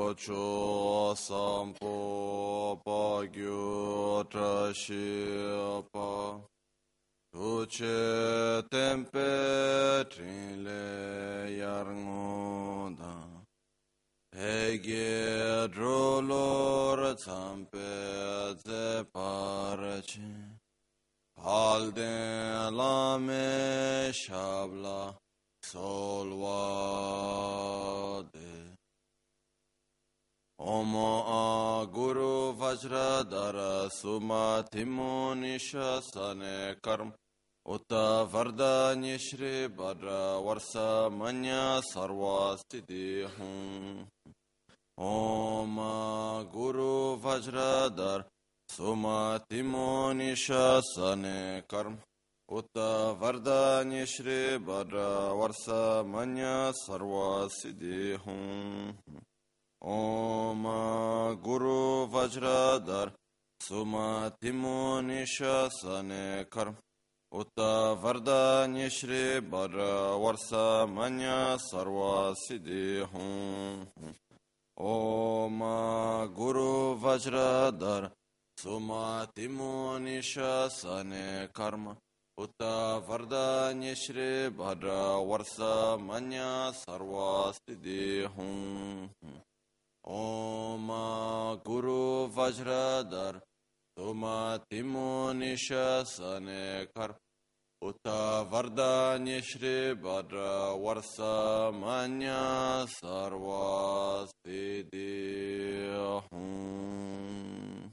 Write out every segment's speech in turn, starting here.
cho sampo pa gyu tra shi pa tu che tempe trin le yar ngu da pe ge dro lor zampe ze par chi al de la me shabla solvade Om Guru Vajradhara Sumatimo Nishasane Karm Uta Vardanya Shri Bhadra Varsa Manya Sarva Siddhi Hum Om Guru Vajradhara Sumatimo Nishasane Karm Uta Vardanya Shri Bhadra Varsa Manya Sarva Siddhi Hum Om Guru Vajradhar Sumatimo Nishasane Karm Uta Vardanya Shri Bhadra Varsa Manya Sarva Siddhi Hum Om Guru Vajradhar Sumatimo Nishasane Karma Uta Vardanya Shri Bhadra Varsa Manya Sarva Siddhi Hum Om Guru Vajradhar Sumatimo Nishasane Kar Uta Vardanya Shri Bhadra Varsa Manya Sarva Siddhi Hum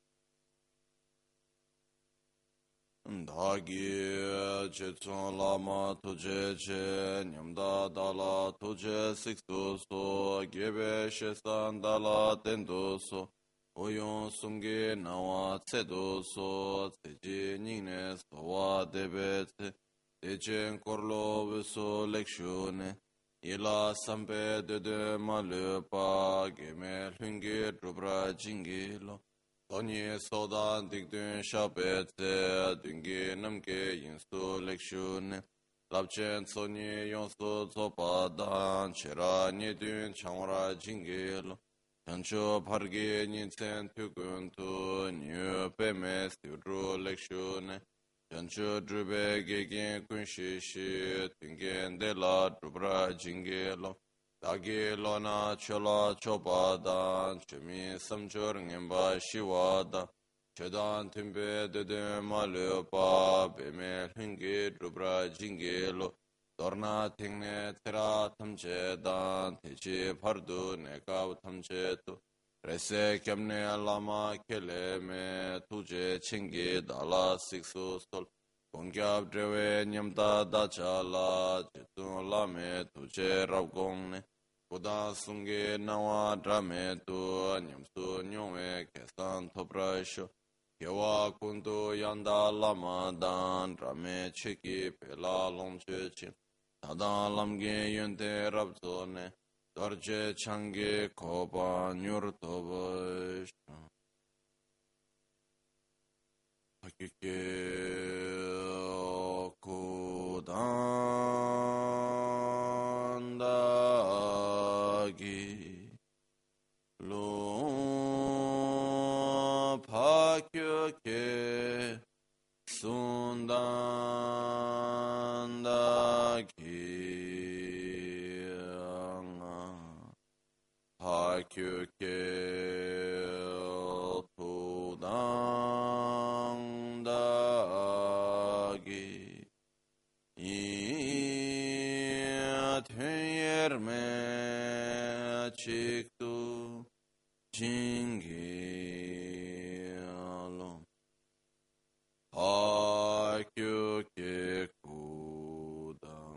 Dhagi Chetson Lama Tuje Che Nyamda Dala Tuje Siksu So Gebe Shesan Dala Tendo So Oyon Sumge Nawa Tsedo So Tseji Nyingne Sowa Debe Tse Techen Korlo Viso Lekshune Ila Sampe Dede Malupa Geme Lungi Drubra Jingilo Tony Sodan Dikdun Shabete Dungi Namke Yinsu Lekshune Lapchen Sony Yonsu Zopadan Chera Nidun Chamra Jingil Chancho Pargi Ninsen Tukuntu Nyu Pemes Tudru Lekshune Chancho Drube Gegin Kunshishi Tungen Dela Drubra Jingilo Dagi Lona Chola Chopadan Chemi Samchur Ngimba Shiwada Chedan Timbe Dede Malupa Beme Hungi Drubra Jingelo Dorna Tingne Tera Tamchedan Techi Pardu Nekav Tamchetu Rese Kemne Lama Keleme Tuje Chingi Dala Siksu Sol Kongyab Drewe Nyamda Dachala Jetun Lame Tuje Ravgongne Buddha Sungi Nawa Drame Tu Nyamsu Nyome Kesan Toprasho Kewa Kundu Yanda Lama Dan Drame Chiki Pela Lomche Chin Tadan Lamge Yunte Rabzone Dorje Changi Koba Nyurtobash Hakike Kudandagi Lo Pakyoke Sundandagi Pakyoke Kudandagi Yerme Chiktu Jingilo Hakyuke Kudam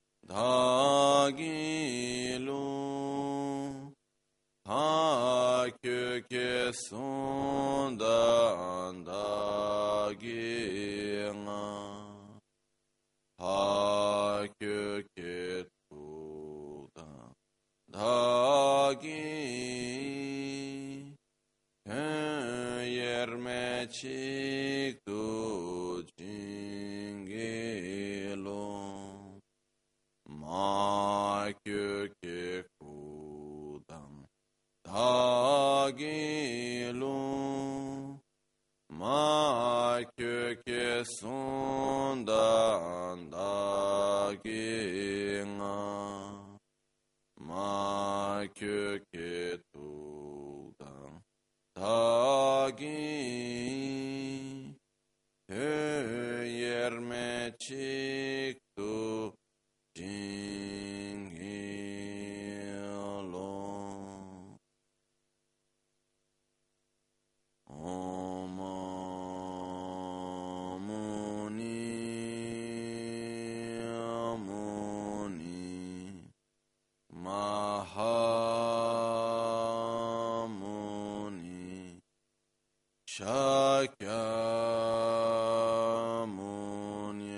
Dagilu Hakyuke Sundandagina Hakyuke Kudam Dagi Yerme Chiktu Jingilo Ma Kyuke Kudam Dagilu Ma Köke Sundan Daginga Ma Köke Tudan Dagi Yerme Chiktu Jingilo Om Muni Muni Mahamuni Shakyamuni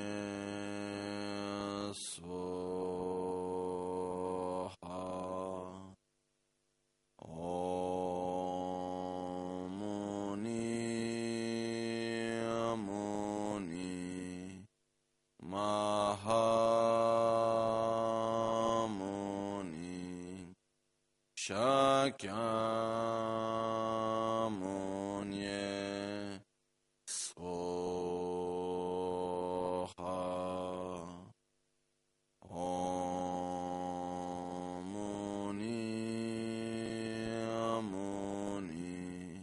Swaha Om Muni Muni Mahamuni Shakyamuni Swaha Om Muni Muni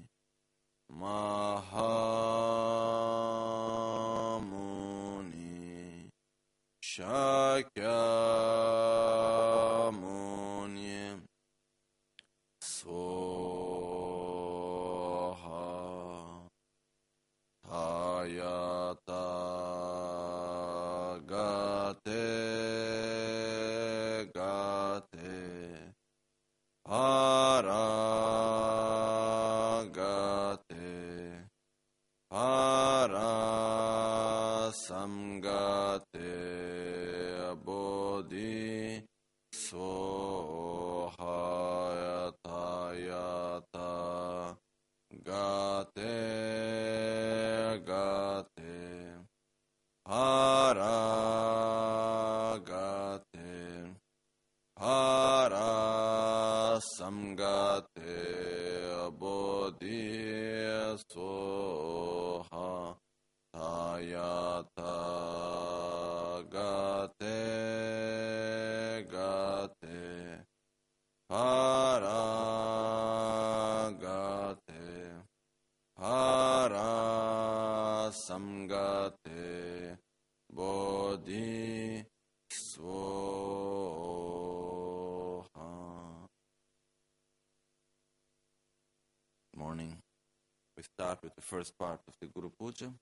Mahamuni Shakyamuni Swaha Hayata Gate Gate Paragate Parasamgate Bodhi Sohayata Yata Gate Gate Paragate Parasamgate Bodhi Soha Tayata Gate Gate Paragate Parasamgate Bodhi Swaha. Morning. We start with the first part of the Guru Puja.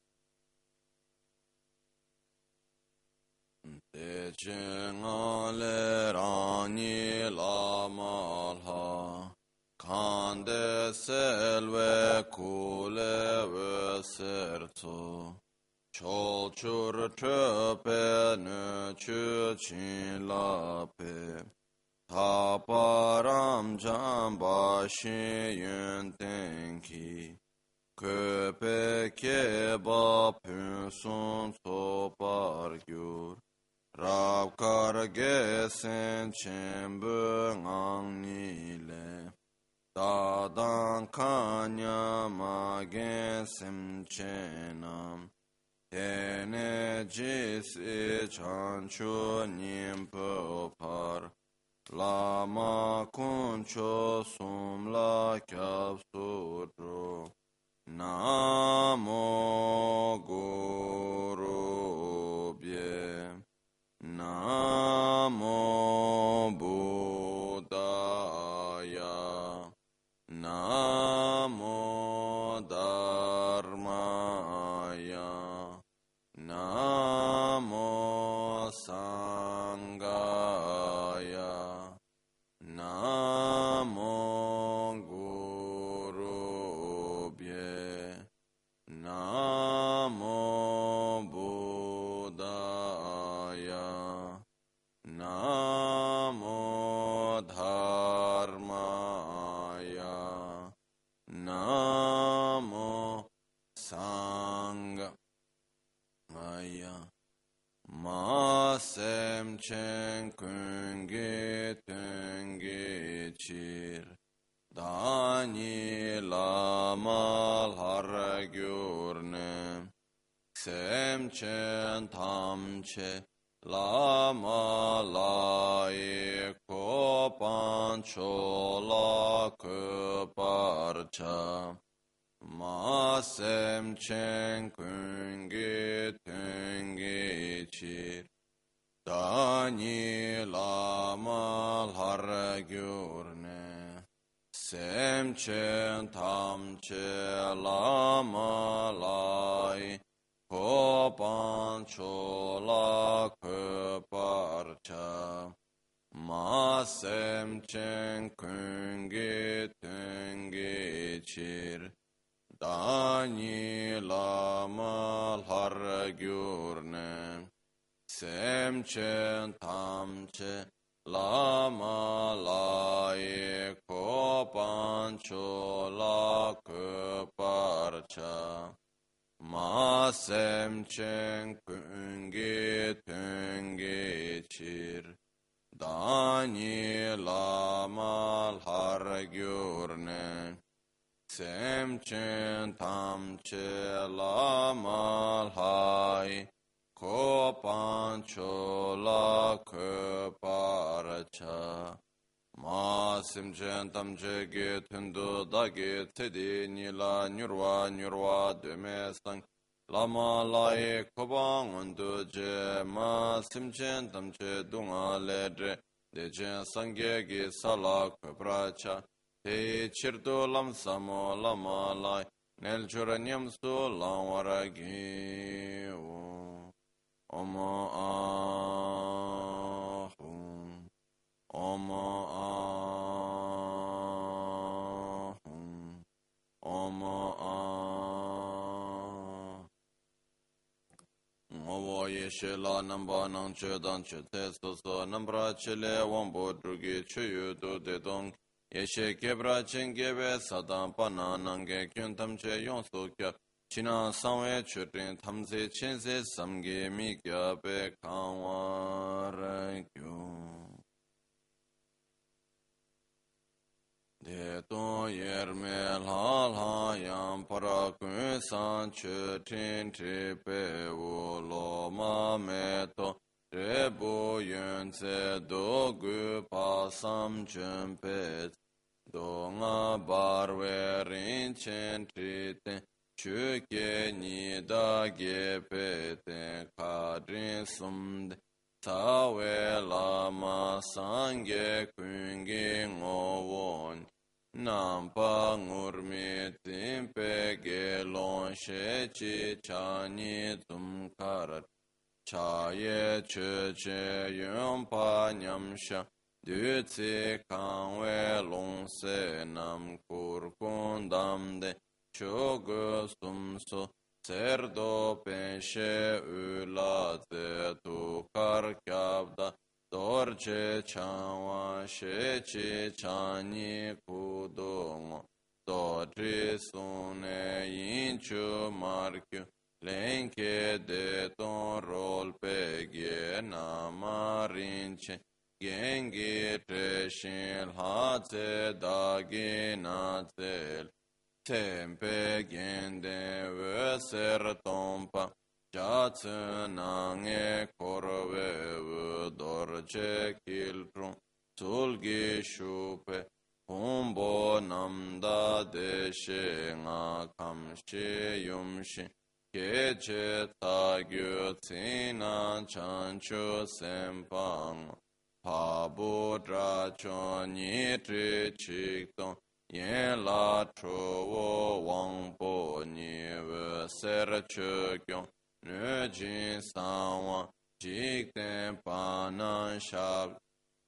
Te chingale rani lamalha Kande selve kule veserto Cholchur töpe nö chin lape Taparam jambashi yun tenki Köpe keba pünsun sopar gyur Rabkar gesen çembö ngang nile Dadan kanya magen simchenam Tene jisi chanchu nimpo par Lama kuncho sumla kyab sudro Namo Guru Bhye Namo Buddhaya Namo Dharmaya Namo Sangaya Namo Guru Bhye Namo chen tam che lama lai ko pan cho la ko parcha ma sem chen kun ge ten ge chi dani lama har gyurne sem chen tam che lama lai ko pan cho la ko parcha ma sem chen kun ge ten ge chir dani lama har gyurne sem chen tam che lama lai ko pan cho la ko parcha ma sem chen kun ge ten ge chir dani lama har gyurne sem chen tam che lama lai ko pan cho la ko parcha ma sem chen tam che ge tundu da ge tedi ni la nyurwa de me sang lama lai ko bang undu je ma sem chen tam che dunga le dre de chen sang ge sala ko pracha te chirdo lam samo lama lai nel churanyam su lamwara gi Oma ahum, Oma ahum, Oma ahum. Ngowo yeshe la namba nang che dan che te so so nambra che le wambo drugi che yu du de dong. Yeshe kebra chen gebe sadan pa na nange kyun tam che yon so kya. China samwe churin tamze chenze samge mi kya pe kangwa rakyo. De to yerme la la yam para kun san churin tri pe u lo ma me to tre bu yun se do gu pa sam chun pe do nga bar we rin chen tri ten Chuke ni da ge pe te ka drin sum de tawe lama sange kungi ngovon nampa ngurmi timpe ge lon she chi chani tum karat chaye che che yom pa nyamsha du tsi kangwe long se nam kur kundam de Chogo sumso serdo penshe ulate tu karkyabda dorje chanwa shechi chani kudongo dodri sune inchu markyu lenke de ton rol pegye namarinche gengi treshin hate dagi nazel Tempe gende veser tompa Jatsu nange korve dorje kiltrum Sulgi shupe Humbo namda deshe nga kamshi yumshi Keche tagyu tsina chanchu sempang Pabu dracho nitri chikton Yen la chuo wang po ni ve ser che kyong ne jin san wang jik ten pa nan shab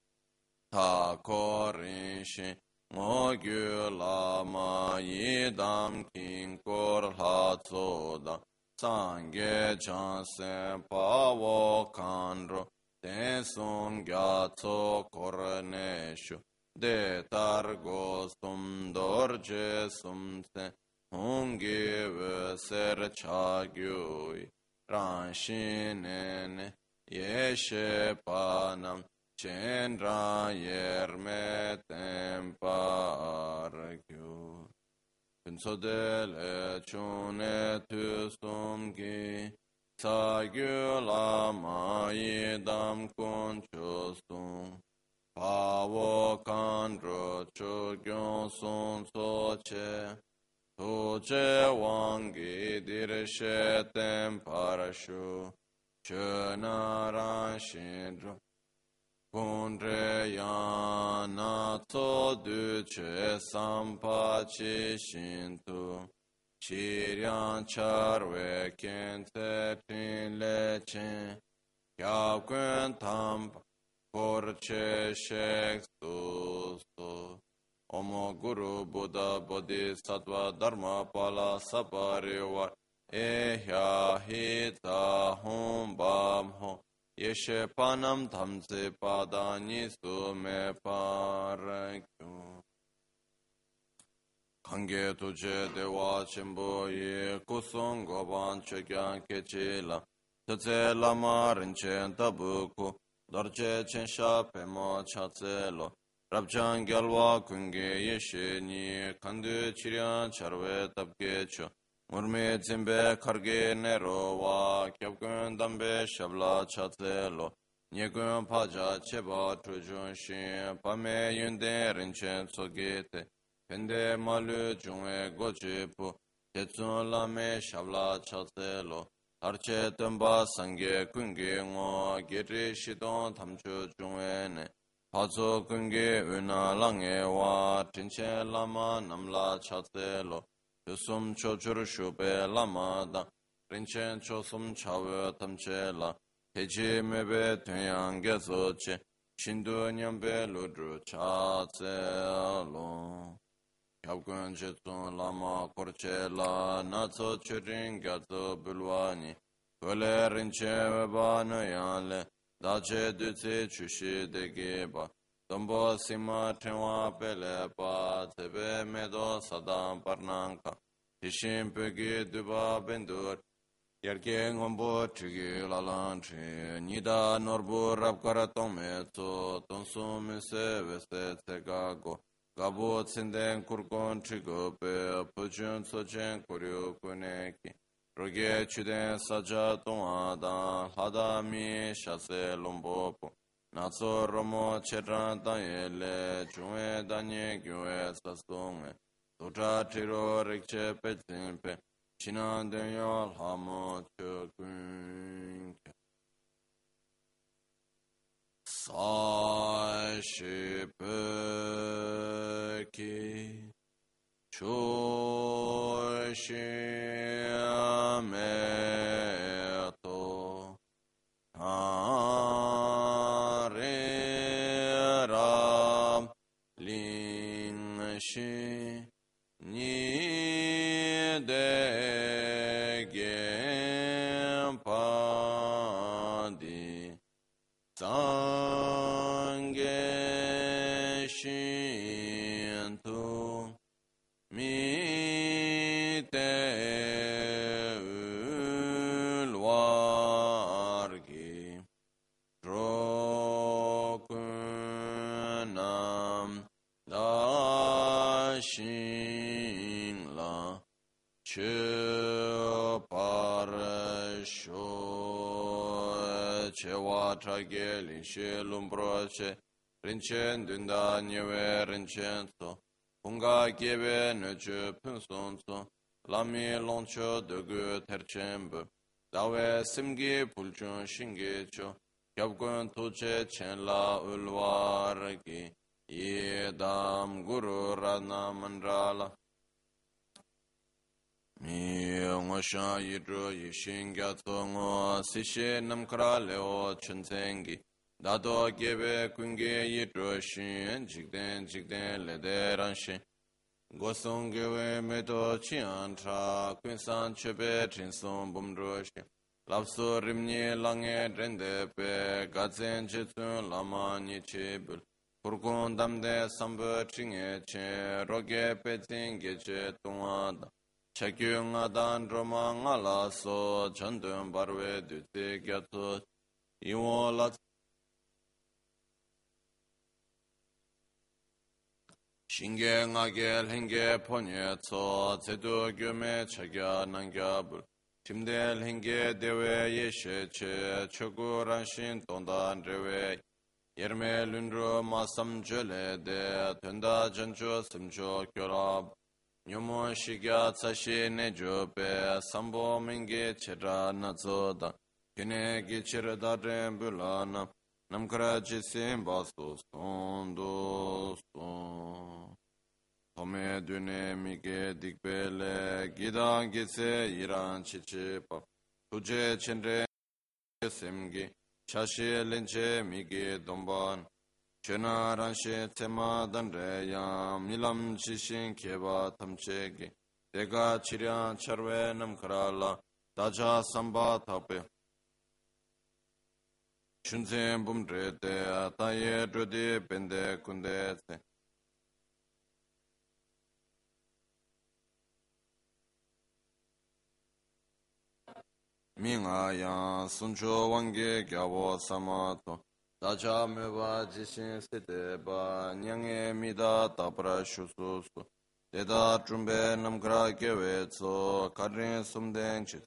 ta ko rin shin ngo gyu la ma yi dam kin kor la tso da san ge chan sen pa wo kan ro ten sun gya tso kor ne shu de targo sum dorje sum se hongi ve ser cha gyui ran shin yeshe panam chen ra yerme tempar gyu penso dele chune tu sum gi sa gyu la ma yi dam kun chu sung pa wo kan ro chu gyong sung so che tu che wang gi dir she tem para shu che na ran shin ru kun re ya na to du che sam pa chi shin tu chi rian char we ken te tin le chen kya kuen tam por che shek tu su Omo Guru Buddha Bodhisattva Dharma Pala Saparivar Ehya Hita Hum Bam Ho Yeshe Panam Tamse Padani Sume Parakyu Kange Tuje Dewa Chimbo Ye Kusung Goban Chekyan Kechila Tse Lama Rinchen Tabuku Dorje Chensha Pema Chatselo Rabjan Gyalwa Kunge Yeshe Ni Kandu Chiryan Charwe Tabge Cho Murme Zimbe Karge Nero Wa Kyabkun Dambe Shabla Chatselo Nyekun Paja Cheba Trujun Shin Pame Yunde Rinchen Sogete Pende Malu Jungwe Gojipu Tetsun Lame Shabla Chatselo Arche Tumba Sange Kunge Ngo Giri Shidon Tamchu Jungwe Pazo kunge una lange wa tinche lama namla chatselo Yusum chochur shube lama da Rinchen chosum chawe tamche la Teji mebe tunyang gezo che Shindu nyambe ludru chatselo Kyabkun chetsun lama korche la Natso churin gazo bulwani Kole rinche weba nuyale Dache dutse chushi degeba, Tombo sima tenwa pele pa, Tebe medo sadam parnanka, Tishim pegi duba bendur, Yerke ngombo trigi lalantri, Nida norbu rapkara tome to, Tonsu mise veste tegago, Gabo tsinden kurkon trigope, Pujun sochen kuryu kuneki, Roge chuden saja tonga dan hada mi shase lombopo Natso romo chedran danyele chunwe danye gyue sastonge Totra tiro rikche petsimpe Chinan denyo lhamo chokunke Sa shipeki Choshiameto Hariram Lingshi Nidegempadi Sange Shintu Mi te ulvargi Drokunam Dashingla Cheparasho Chewatra Lishe Lumbroche Rinchen Dunda Nyewe Rinchen Punga gebe nöchö pünsonso, lami loncho dögü terçembe, dawe simgi pulchun shingecho, kyabgun tuche chenla ulvargi, yedam guru radna mandrala. Mi ngosha yidro yishin gyatso ngo sishe namkara leo chunsengi, Dado gebe kunge yidro shin, jikden lede ranshin. Gosong gewe medo chian tra, kunsan chebe chinson bumdro shin. Lapso rimni lange drende pe, gazen jitsun lama ni chebul. Kurkun damde sambo chinge che, roge pe zinge che tungada. Chakyu nga dan roma nga la so, chandun barwe dute gyatso. Iwo lat Shinge ngage lhinge ponye tso, tsedu gyume chagya nangyabul. Chimdel hinge dewe yeshe che chokuranshin tondan rewe yerme lundro masam jole de tenda jancho simcho kyorab nyomo shigya tsashi nejo pe sambo minge chera nazo da kene gichir darren bulana namkara jisim baso sondo son Tome dune mige dikbele gidan gitse iran chichi pa tuje chenre semgi chashi lenche mige domban chena ranshe tema danre yam nilam chishin keba tamchegi dega chiryan charve namkarala daja samba tape chunzen bumre te ataye drodi bende kunde te Minga yang suncho wange gyabo samato dacha meba jishin sete ba nyange mida tapra shususu deda trumbe namkra gewe tso karin sumden chit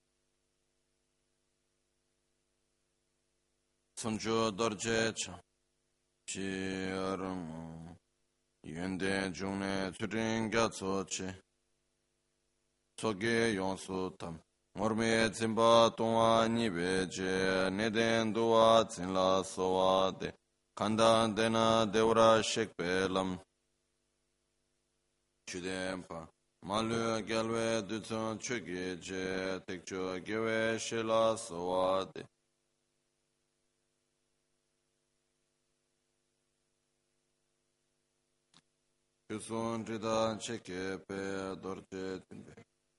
suncho dorje cha chi aramu yende jungne turin gyatso chi soge yonsu tam Morme zimba tonga nibe je neden duwa zinla sowa de kanda dena devra shekpe lam chudempa malu gelwe dutsun chugi je tekcho gewe shela sowa de chusun rida cheke pe dorje timbe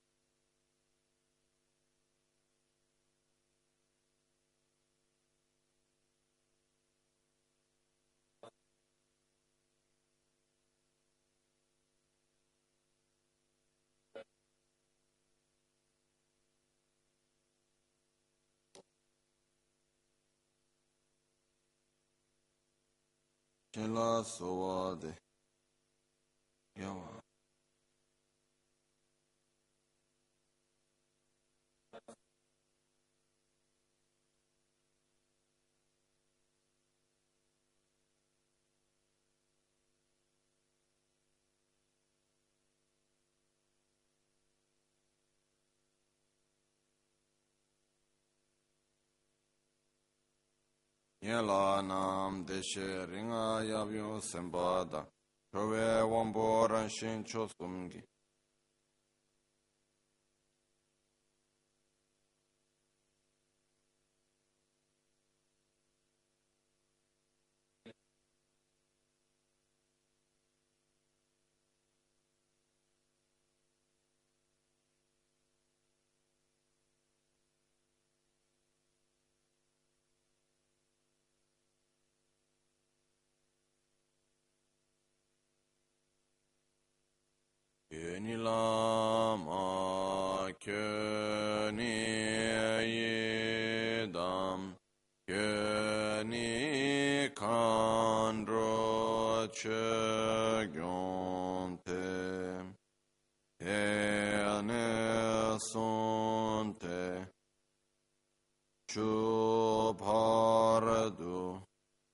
shela sowa de yawa Yela nam deshe ringa yabyo sembada Trove wambo ranshin chosumgi Kyeni lama kyeni yedam kyeni kandro chegyonte ene sonte chubharadu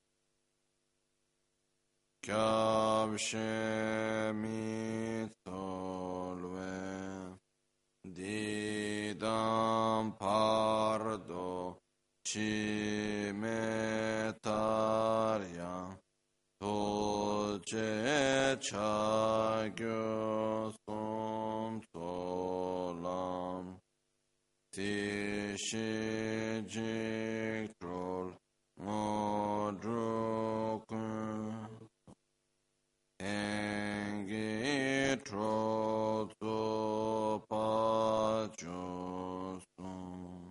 kyabshemi tolve didam pardo cimetarya toce chagyo som solam tishi jiktrol modrukun Engi trozo pachosum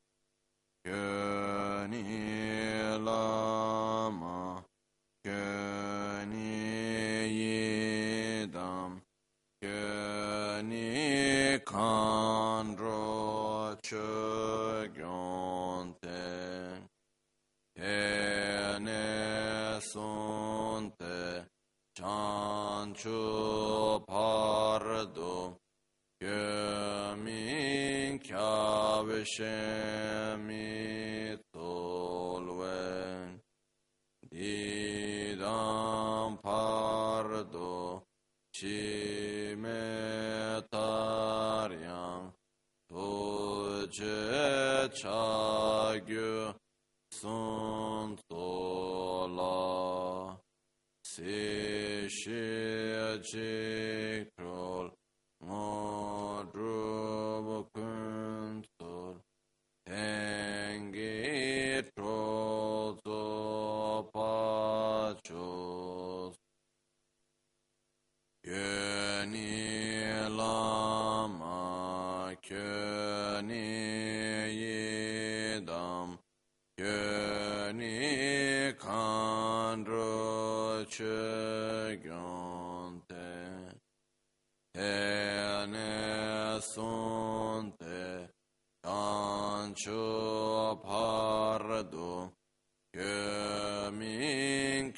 Kyeni lama Kyeni yidam Kyeni kandro chogyonte Ene sonte Chanchu pardo Kyamin kya shemi tolwe didam pardo chime taryang toje chagyu sun tola si shi jikrol modrub kuntor tengi trozo pachos Kyöni lama kyöni yidam kyöni kandro chögyonte tene sunte kancho pardo Kömin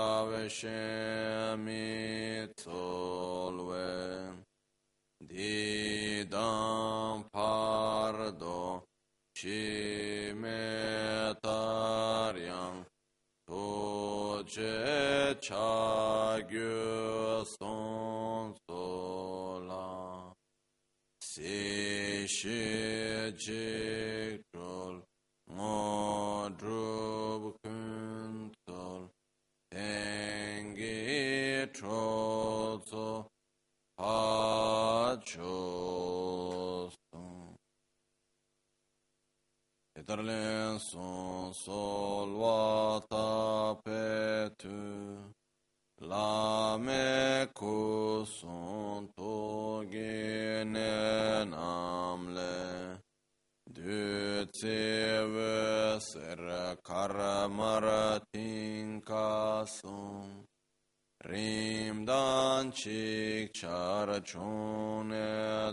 kaveshemi tolwe didam pardo shimetaryang toje chagyu sonsola si shi jikrol modrub kuntol tengi trozo pachos eterlen son sol vata petu lame kuson togene namle du teve ser karamaratin kasum rimdan chik charachone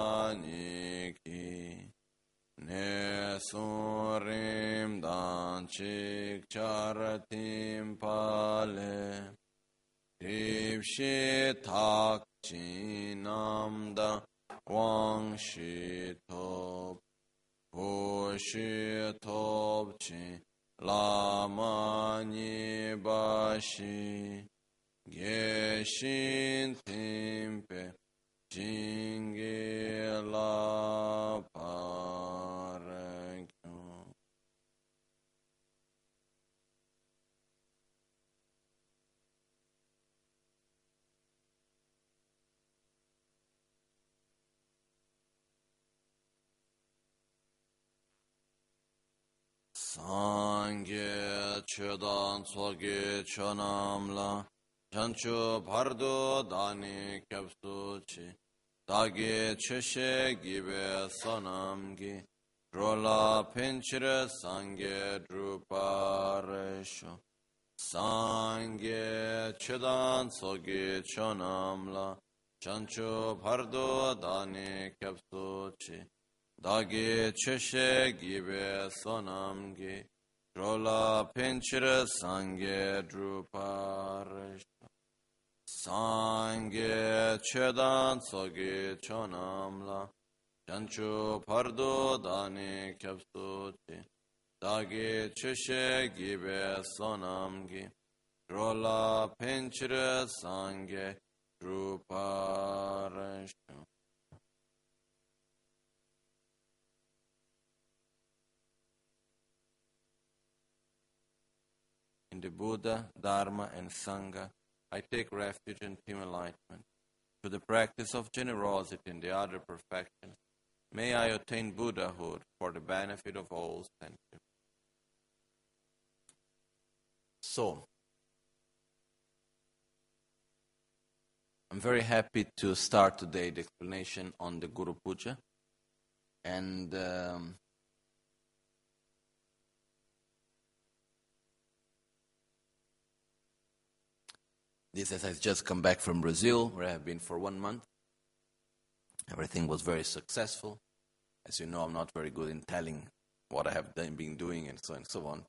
daniki ne sun rimdan chik charatim pale ripshi tak chinamda wang shi top Oshi topchi lama nibashi geshin timpe jingi la parekyo. Sangye chedan tsoge chonamla chancho pardo dani kyapsuchi dagi cheshe gibe sonamgi rola pinchire sangye druparesho sangye chedan tsoge chonamla chancho pardo dani kyapsuchi Dagi cheshe gibe sonamgi rola pinchire sangye druparesho sangye chedan tsogi chonamla chanchu pardo dani kyapsuchi dagi cheshe gibe sonamgi rola pinchire sangye druparesho In the Buddha, Dharma, and Sangha, I take refuge in team enlightenment. Through the practice of generosity and the other perfections, may I attain Buddhahood for the benefit of all sentient. So, I'm very happy to start today the explanation on the Guru Puja. And this as I've just come back from Brazil, where I have been for 1 month. Everything was very successful. As you know, I'm not very good in telling what I have been doing and so on and so on.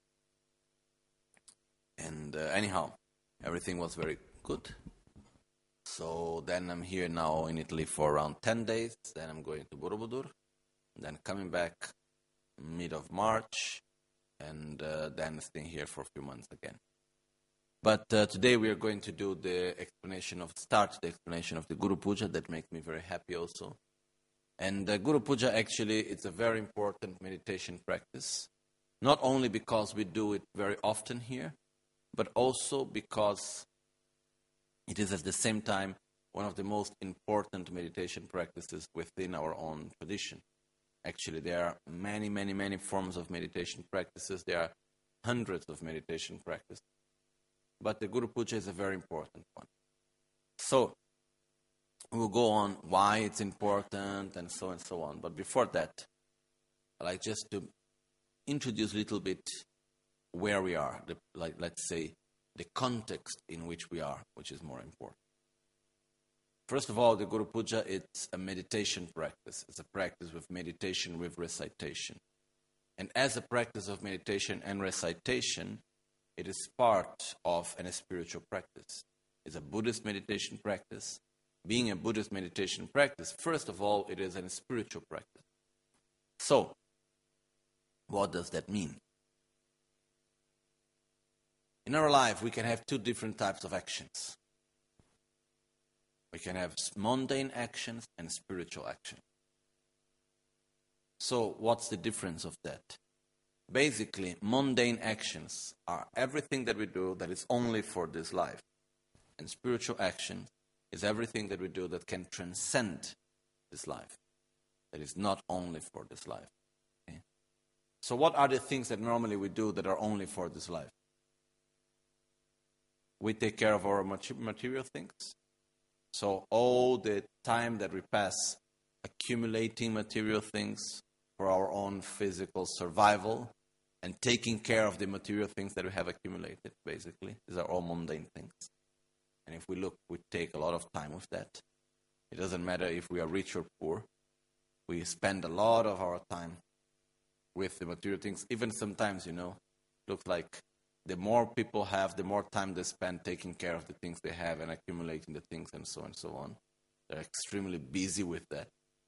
And anyhow, everything was very good. So then I'm here now in Italy for around 10 days. Then I'm going to Borobudur. Then coming back mid of March, and then staying here for a few months again. But today we are going to do the explanation of the Guru Puja. That makes me very happy also. And Guru Puja actually, it's a very important meditation practice, not only because we do it very often here, but also because it is at the same time one of the most important meditation practices within our own tradition. Actually, there are many, many, many forms of meditation practices. There are hundreds of meditation practices. But the Guru Puja is a very important one. So, we'll go on why it's important and so on. But before that, I'd like just to introduce a little bit where we are, let's say, the context in which we are, which is more important. First of all, the Guru Puja, it's a meditation practice. It's a practice with meditation, with recitation. And as a practice of meditation and recitation, it is part of a spiritual practice. It's a Buddhist meditation practice. Being a Buddhist meditation practice, first of all, it is a spiritual practice. So, what does that mean? In our life, we can have two different types of actions. We can have mundane actions and spiritual actions. So, what's the difference of that? Basically, mundane actions are everything that we do that is only for this life. And spiritual action is everything that we do that can transcend this life. That is not only for this life. Okay? So what are the things that normally we do that are only for this life? We take care of our material things. So all the time that we pass accumulating material things for our own physical survival and taking care of the material things that we have accumulated, basically. These are all mundane things. And if we look, we take a lot of time with that. It doesn't matter if we are rich or poor. We spend a lot of our time with the material things. Even sometimes, looks like the more people have, the more time they spend taking care of the things they have and accumulating the things and so on. They're extremely busy with that.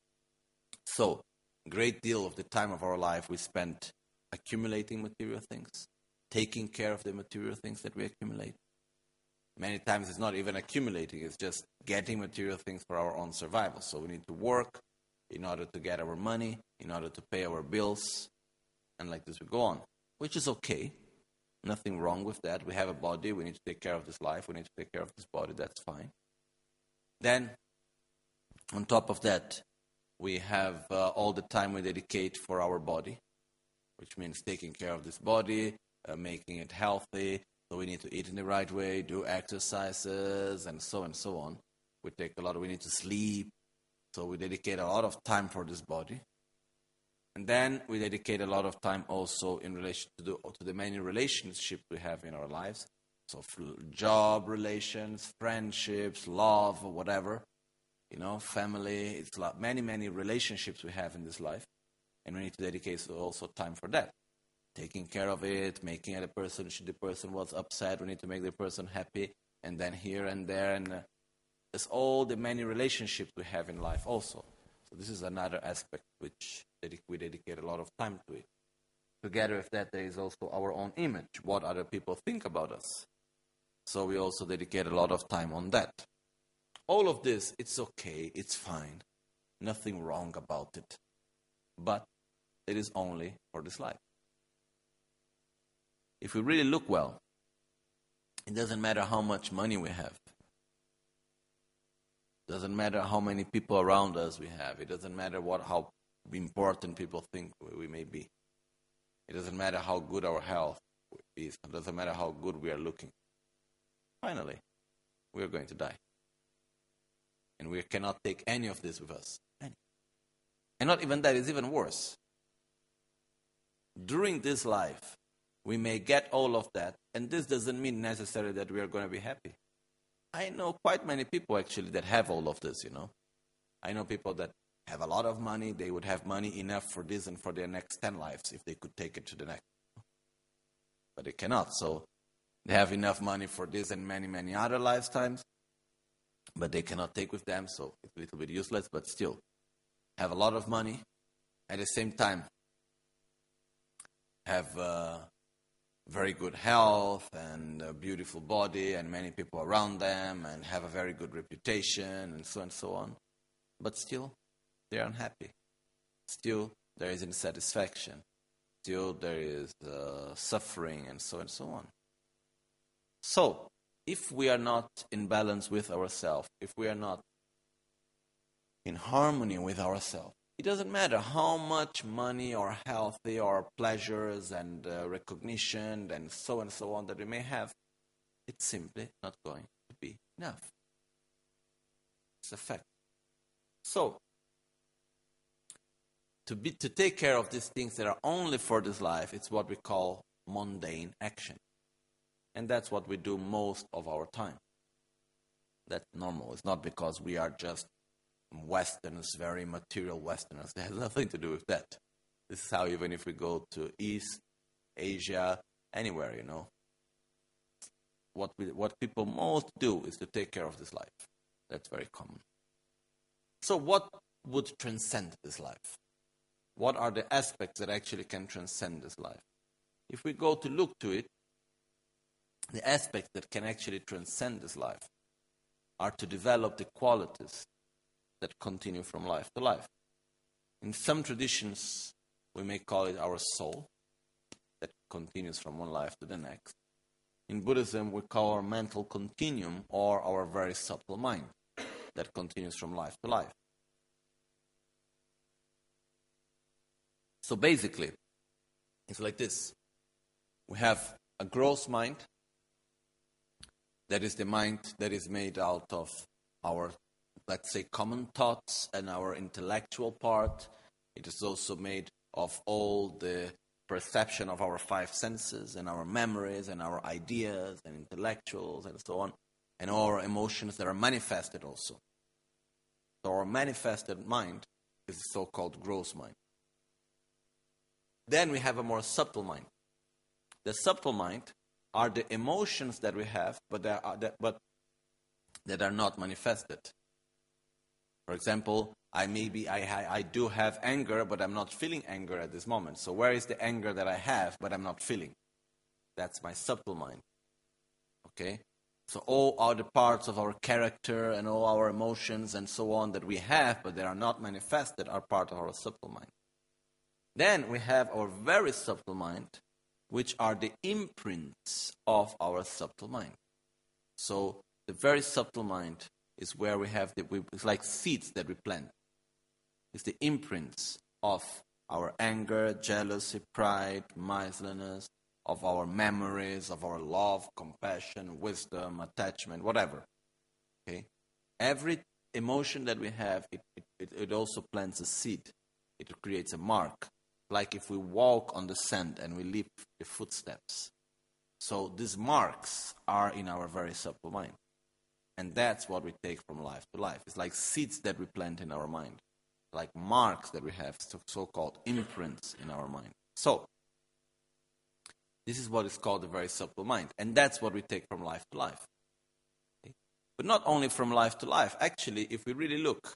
So, a great deal of the time of our life we spend accumulating material things, taking care of the material things that we accumulate. Many times it's not even accumulating, it's just getting material things for our own survival. So we need to work in order to get our money, in order to pay our bills, and like this we go on, which is okay. Nothing wrong with that. We have a body, we need to take care of this life, we need to take care of this body, that's fine. Then, on top of that, we have all the time we dedicate for our body, which means taking care of this body, making it healthy. So we need to eat in the right way, do exercises, and so on. We need to sleep. So we dedicate a lot of time for this body. And then we dedicate a lot of time also in relation to the many relationships we have in our lives. So job relations, friendships, love, or whatever. Family. It's many, many relationships we have in this life. And we need to dedicate also time for that. Taking care of it, making the person was upset, we need to make the person happy, and then here and there, and there's all the many relationships we have in life also. So this is another aspect which we dedicate a lot of time to it. Together with that, there is also our own image, what other people think about us. So we also dedicate a lot of time on that. All of this, it's okay, it's fine, nothing wrong about it, but it is only for this life. If we really look well, it doesn't matter how much money we have. It doesn't matter how many people around us we have. It doesn't matter how important people think we may be. It doesn't matter how good our health is. It doesn't matter how good we are looking. Finally, we are going to die. And we cannot take any of this with us. And not even that, it's even worse. During this life, we may get all of that, and this doesn't mean necessarily that we are going to be happy. I know quite many people actually that have all of this, I know people that have a lot of money, they would have money enough for this and for their next 10 lives if they could take it to the next. But they cannot, so they have enough money for this and many, many other lifetimes, but they cannot take with them, so it's a little bit useless, but still have a lot of money. At the same time, have very good health and a beautiful body and many people around them and have a very good reputation and so on. But still, they are unhappy. Still, there is insatisfaction. Still, there is suffering and so on. So, if we are not in balance with ourselves, if we are not in harmony with ourselves, it doesn't matter how much money or healthy or pleasures and recognition and so on that we may have, it's simply not going to be enough. It's a fact. So, to take care of these things that are only for this life, it's what we call mundane action. And that's what we do most of our time. That's normal. It's not because we are just Westerners, very material Westerners. It has nothing to do with that. This is how even if we go to East Asia, anywhere, what people most do is to take care of this life. That's very common. So what would transcend this life? What are the aspects that actually can transcend this life? If we go to look to it, the aspects that can actually transcend this life are to develop the qualities that continue from life to life. In some traditions, we may call it our soul, that continues from one life to the next. In Buddhism, we call our mental continuum or our very subtle mind, that continues from life to life. So basically, it's like this. We have a gross mind, that is the mind that is made out of our, let's say, common thoughts and our intellectual part. It is also made of all the perception of our five senses and our memories and our ideas and intellectuals and so on, and all our emotions that are manifested also. So our manifested mind is the so-called gross mind. Then we have a more subtle mind. The subtle mind are the emotions that we have, but that are not manifested. For example, I do have anger, but I'm not feeling anger at this moment. So where is the anger that I have, but I'm not feeling? That's my subtle mind. Okay? So all other parts of our character and all our emotions and so on that we have, but they are not manifested, are part of our subtle mind. Then we have our very subtle mind, which are the imprints of our subtle mind. So the very subtle mind is where we have it's like seeds that we plant. It's the imprints of our anger, jealousy, pride, miserliness, of our memories, of our love, compassion, wisdom, attachment, whatever. Okay? Every emotion that we have, it also plants a seed. It creates a mark. Like if we walk on the sand and we leave the footsteps. So these marks are in our very subtle mind. And that's what we take from life to life. It's like seeds that we plant in our mind. Like marks that we have, so-called imprints in our mind. So, this is what is called the very subtle mind. And that's what we take from life to life. Okay? But not only from life to life. Actually, if we really look,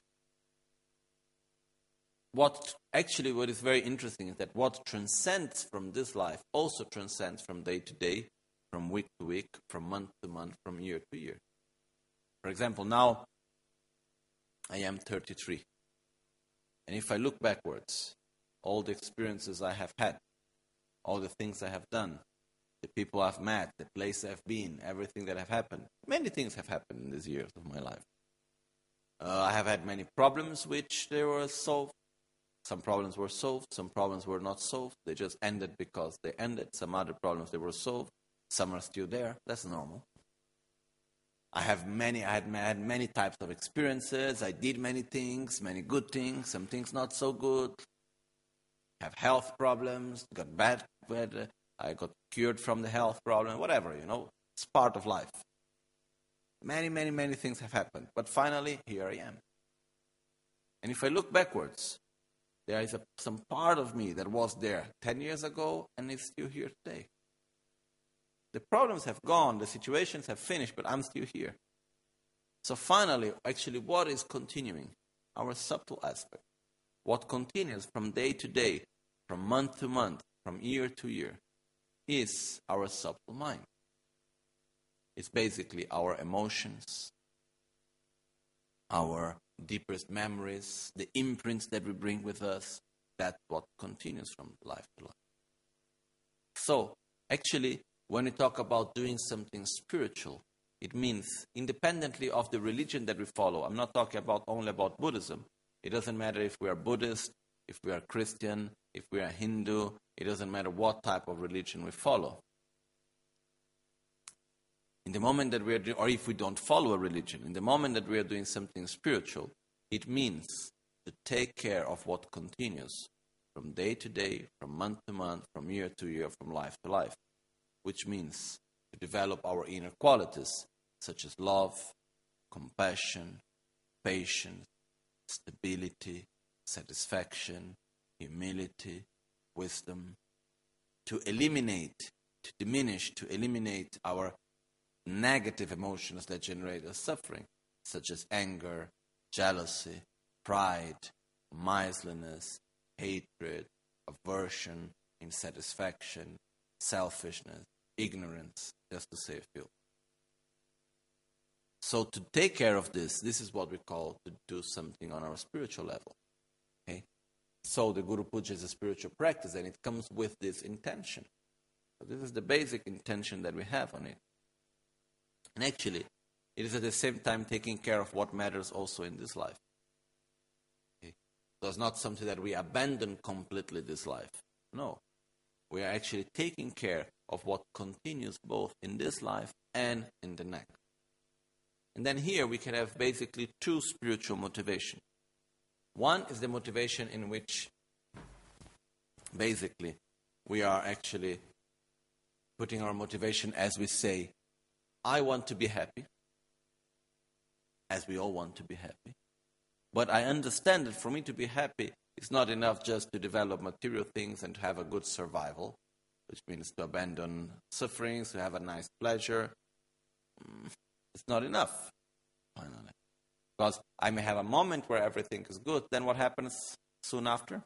what is very interesting is that what transcends from this life also transcends from day to day, from week to week, from month to month, from year to year. For example, now I am 33. And if I look backwards, all the experiences I have had, all the things I have done, the people I've met, the place I've been, everything that have happened, many things have happened in these years of my life. I have had many problems which they were solved. Some problems were solved, some problems were not solved. They just ended because they ended. Some other problems, they were solved. Some are still there. That's normal. I had many types of experiences. I did many things, many good things, some things not so good. I have health problems, got bad, I got cured from the health problem, whatever, It's part of life. Many things have happened. But finally, here I am. And if I look backwards, there is some part of me that was there 10 years ago and is still here today. The problems have gone, the situations have finished, but I'm still here. So finally, actually, what is continuing? Our subtle aspect. What continues from day to day, from month to month, from year to year is our subtle mind. It's basically our emotions, our deepest memories, the imprints that we bring with us. That's what continues from life to life. So, actually, when we talk about doing something spiritual, it means independently of the religion that we follow. I'm not talking only about Buddhism. It doesn't matter if we are Buddhist, if we are Christian, if we are Hindu. It doesn't matter what type of religion we follow. In the moment that we are or if we don't follow a religion, in the moment that we are doing something spiritual, it means to take care of what continues from day to day, from month to month, from year to year, from life to life, which means to develop our inner qualities, such as love, compassion, patience, stability, satisfaction, humility, wisdom, to eliminate our negative emotions that generate us suffering, such as anger, jealousy, pride, miserliness, hatred, aversion, insatisfaction, selfishness, ignorance, just to say a few. So to take care of this is what we call to do something on our spiritual level. Okay? So the Guru Puja is a spiritual practice, and it comes with this intention. So this is the basic intention that we have on it. And actually, it is at the same time taking care of what matters also in this life. Okay? So it's not something that we abandon completely this life. No. We are actually taking care of what continues both in this life and in the next. And then here we can have basically two spiritual motivations. One is the motivation in which basically we are actually putting our motivation as we say, I want to be happy, as we all want to be happy. But I understand that for me to be happy, it's not enough just to develop material things and to have a good survival, which means to abandon sufferings, to have a nice pleasure. It's not enough. Finally. Because I may have a moment where everything is good, then what happens soon after?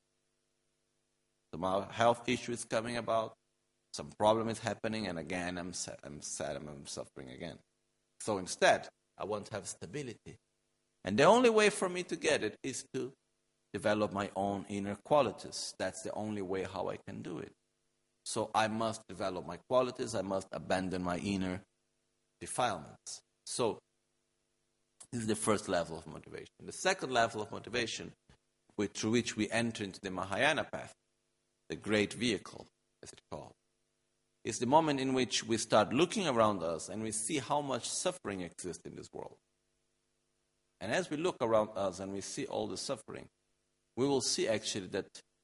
Some health issue is coming about, some problem is happening, and again I'm sad, I'm suffering again. So instead, I want to have stability. And the only way for me to get it is to develop my own inner qualities. That's the only way how I can do it. So I must develop my qualities, I must abandon my inner defilements. So this is the first level of motivation. The second level of motivation, through which we enter into the Mahayana path, the great vehicle, as it's called, is the moment in which we start looking around us and we see how much suffering exists in this world. And as we look around us and we see all the suffering, we will see actually that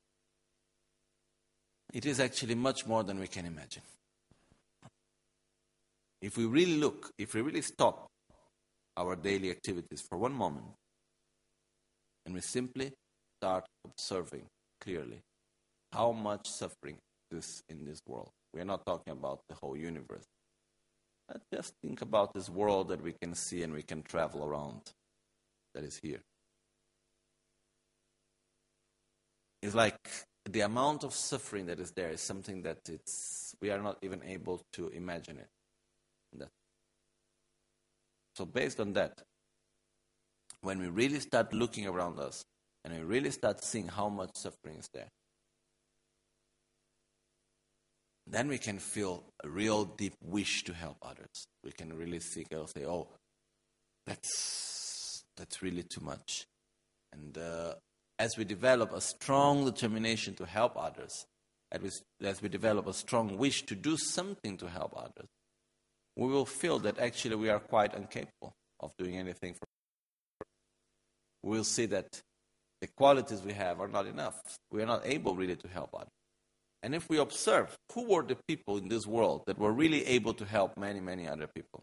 it is actually much more than we can imagine. If we really look, if we really stop our daily activities for one moment, and we simply start observing clearly how much suffering exists in this world. We are not talking about the whole universe. Let's just think about this world that we can see and we can travel around, that is here. It's like the amount of suffering that is there is something that we are not even able to imagine it. So based on that, when we really start looking around us and we really start seeing how much suffering is there, then we can feel a real deep wish to help others. We can really think and say, oh, that's really too much. And as we develop a strong determination to help others, as we develop a strong wish to do something to help others, we will feel that actually we are quite incapable of doing anything for others. We will see that the qualities we have are not enough. We are not able really to help others. And if we observe who were the people in this world that were really able to help many, many other people,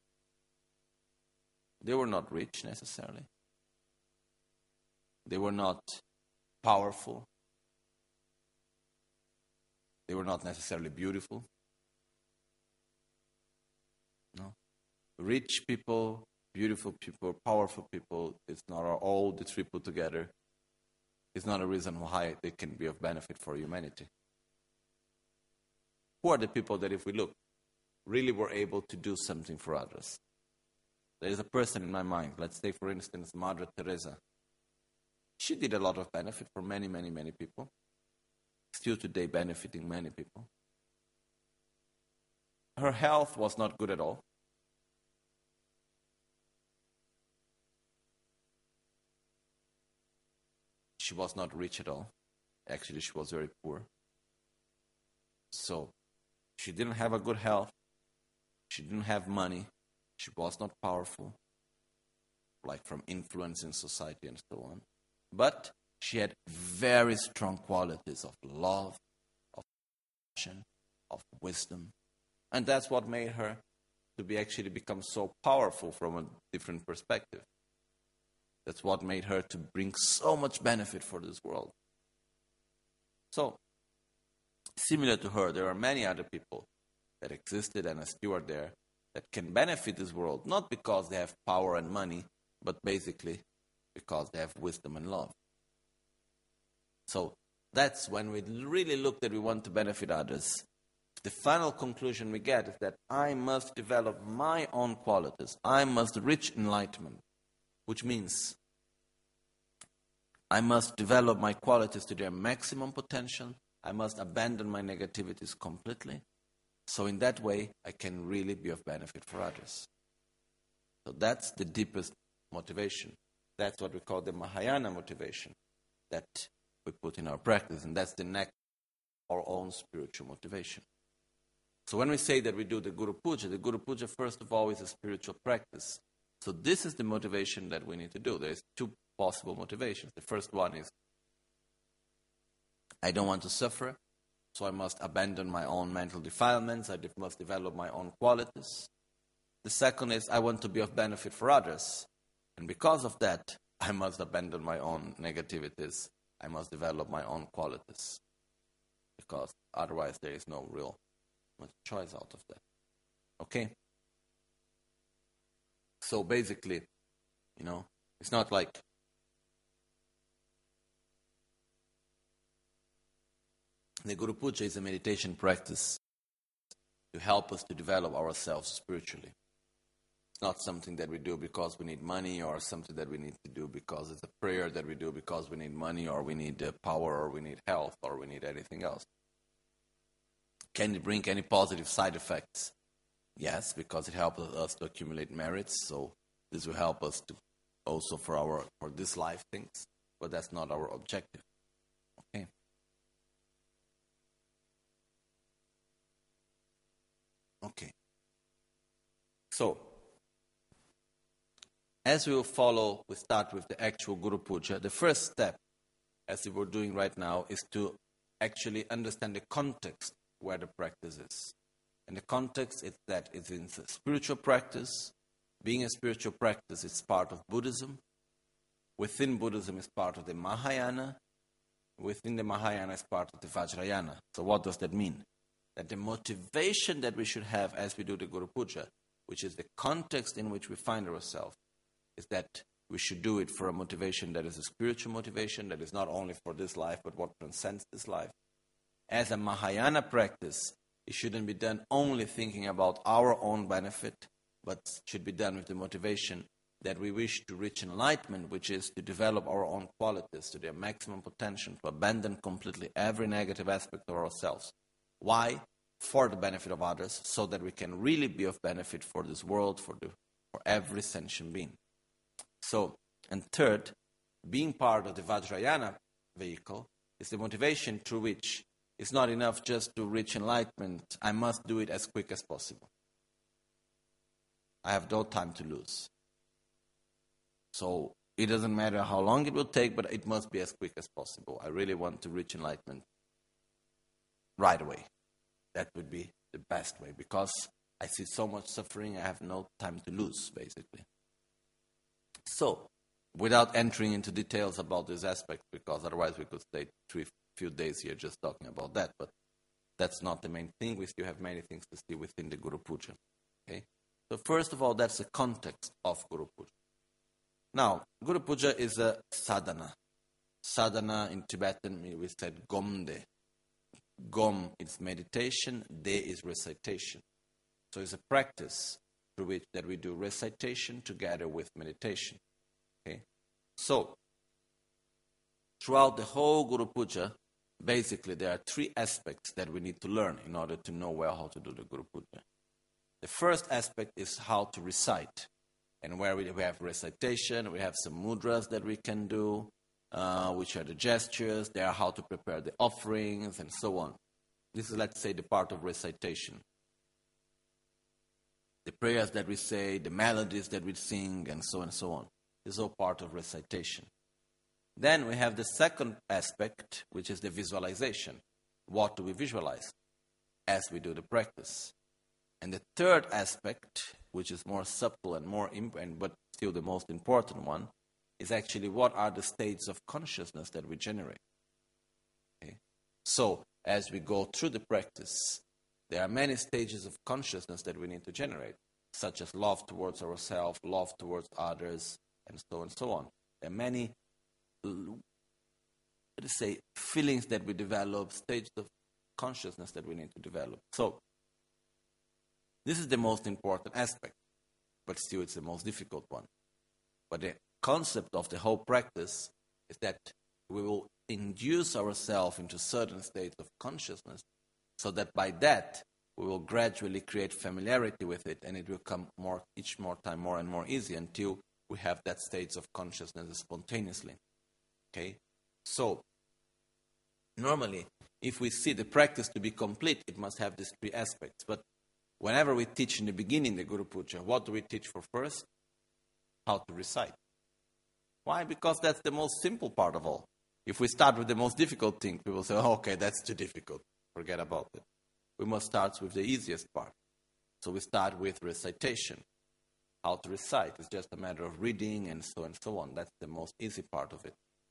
they were not rich necessarily. They were not powerful. They were not necessarily beautiful. No. Rich people, beautiful people, powerful people, it's not all the three put together. It's not a reason why they can be of benefit for humanity. who are the people that, if we look, really were able to do something for others? There is a person in my mind. Let's take, for instance, Mother Teresa. She did a lot of benefit for many, many, many people. Still today benefiting many people. Her health was not good at all. She was not rich at all. Actually, she was very poor. So, she didn't have a good health. She didn't have money. She was not powerful, like from influence in society and so on. But she had very strong qualities of love, of passion, of wisdom. And that's what made her to become so powerful from a different perspective. That's what made her to bring so much benefit for this world. So, similar to her, there are many other people that existed and are still there that can benefit this world, not because they have power and money, but basically because they have wisdom and love. So that's when we really look that we want to benefit others. The final conclusion we get is that I must develop my own qualities. I must reach enlightenment, which means I must develop my qualities to their maximum potential. I must abandon my negativities completely. So in that way, I can really be of benefit for others. So that's the deepest motivation. That's what we call the Mahayana motivation that we put in our practice. And that's the next, our own spiritual motivation. So when we say that we do the Guru Puja, first of all, is a spiritual practice. So this is the motivation that we need to do. There's two possible motivations. The first one is, I don't want to suffer, so I must abandon my own mental defilements. I must develop my own qualities. The second is, I want to be of benefit for others. And because of that, I must abandon my own negativities. I must develop my own qualities. Because otherwise there is no real much choice out of that. Okay? So basically, it's not like the Guru Puja is a meditation practice to help us to develop ourselves spiritually. It's not something that we do because we need money, or something that we need to do because it's a prayer that we do because we need money, or we need power, or we need health, or we need anything else. Can it bring any positive side effects? Yes, because it helps us to accumulate merits. So this will help us to also for this life things, but that's not our objective. Okay. Okay. So, as we will follow, we start with the actual Guru Puja. The first step, as we were doing right now, is to actually understand the context where the practice is. And the context is that it's in a spiritual practice. Being a spiritual practice, it's part of Buddhism. Within Buddhism, it's part of the Mahayana. Within the Mahayana, it's part of the Vajrayana. So what does that mean? That the motivation that we should have as we do the Guru Puja, which is the context in which we find ourselves, is that we should do it for a motivation that is a spiritual motivation, that is not only for this life, but what transcends this life. As a Mahayana practice, it shouldn't be done only thinking about our own benefit, but should be done with the motivation that we wish to reach enlightenment, which is to develop our own qualities to their maximum potential, to abandon completely every negative aspect of ourselves. Why? For the benefit of others, so that we can really be of benefit for this world, for every sentient being. So, and third, being part of the Vajrayana vehicle is the motivation through which it's not enough just to reach enlightenment. I must do it as quick as possible. I have no time to lose. So it doesn't matter how long it will take, but it must be as quick as possible. I really want to reach enlightenment right away. That would be the best way, because I see so much suffering, I have no time to lose, basically. So, without entering into details about this aspect, because otherwise we could stay few days here just talking about that, but that's not the main thing. We still have many things to see within the Guru Puja. Okay? So first of all, that's the context of Guru Puja. Now, Guru Puja is a sadhana. Sadhana in Tibetan, we said gomde. Gom is meditation, De is recitation. So it's a practice through which that we do recitation together with meditation. Okay? So, throughout the whole Guru Puja, basically there are three aspects that we need to learn in order to know well how to do the Guru Puja. The first aspect is how to recite. And where we have recitation, we have some mudras that we can do, which are the gestures, they are how to prepare the offerings, and so on. This is, let's say, the part of recitation. The prayers that we say, the melodies that we sing, and so on. This is all part of recitation. Then we have the second aspect, which is the visualization. What do we visualize as we do the practice? And the third aspect, which is more subtle and more but still the most important one, is actually what are the states of consciousness that we generate. Okay? So, as we go through the practice, there are many stages of consciousness that we need to generate, such as love towards ourselves, love towards others, and so on. There are many, feelings that we develop, stages of consciousness that we need to develop. So, this is the most important aspect, but still it's the most difficult one. But the concept of the whole practice is that we will induce ourselves into certain states of consciousness so that by that we will gradually create familiarity with it, and it will come each time more and more easy until we have that states of consciousness spontaneously. Okay? So, normally, if we see the practice to be complete, it must have these three aspects. But whenever we teach in the beginning the Guru Puja, what do we teach for first? How to recite. Why? Because that's the most simple part of all. If we start with the most difficult thing, people say, oh, okay, that's too difficult. Forget about it. We must start with the easiest part. So we start with recitation. How to recite is just a matter of reading and so on. That's the most easy part of it.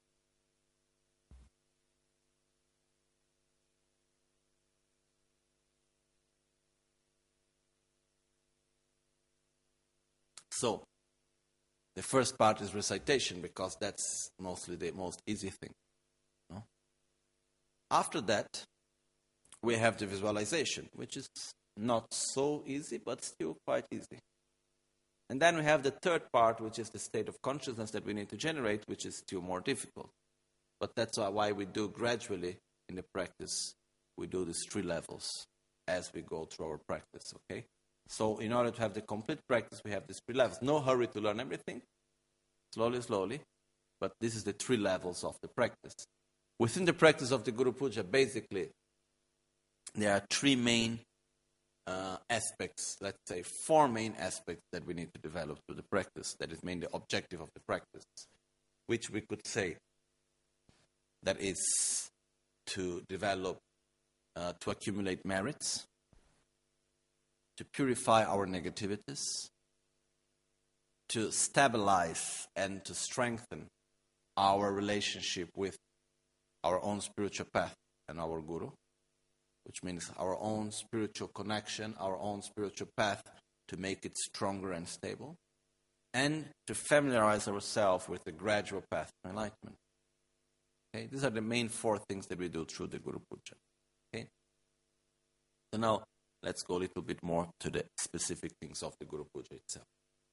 So, the first part is recitation because that's mostly the most easy thing. No? After that, we have the visualization, which is not so easy, but still quite easy. And then we have the third part, which is the state of consciousness that we need to generate, which is still more difficult. But that's why we do gradually in the practice, we do these three levels as we go through our practice, okay? So in order to have the complete practice, we have these three levels. No hurry to learn everything. Slowly. But this is the three levels of the practice. Within the practice of the Guru Puja, basically, there are three main aspects, let's say four main aspects that we need to develop through the practice. That is mainly the objective of the practice, which we could say that is to develop, to accumulate merits, to purify our negativities, to stabilize and to strengthen our relationship with our own spiritual path and our Guru, which means our own spiritual connection, our own spiritual path, to make it stronger and stable, and to familiarize ourselves with the gradual path of enlightenment. Okay? These are the main four things that we do through the Guru Puja. Okay? So now, let's go a little bit more to the specific things of the Guru Puja itself.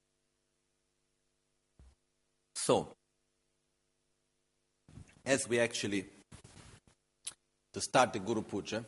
So, as we actually, to start the Guru Puja,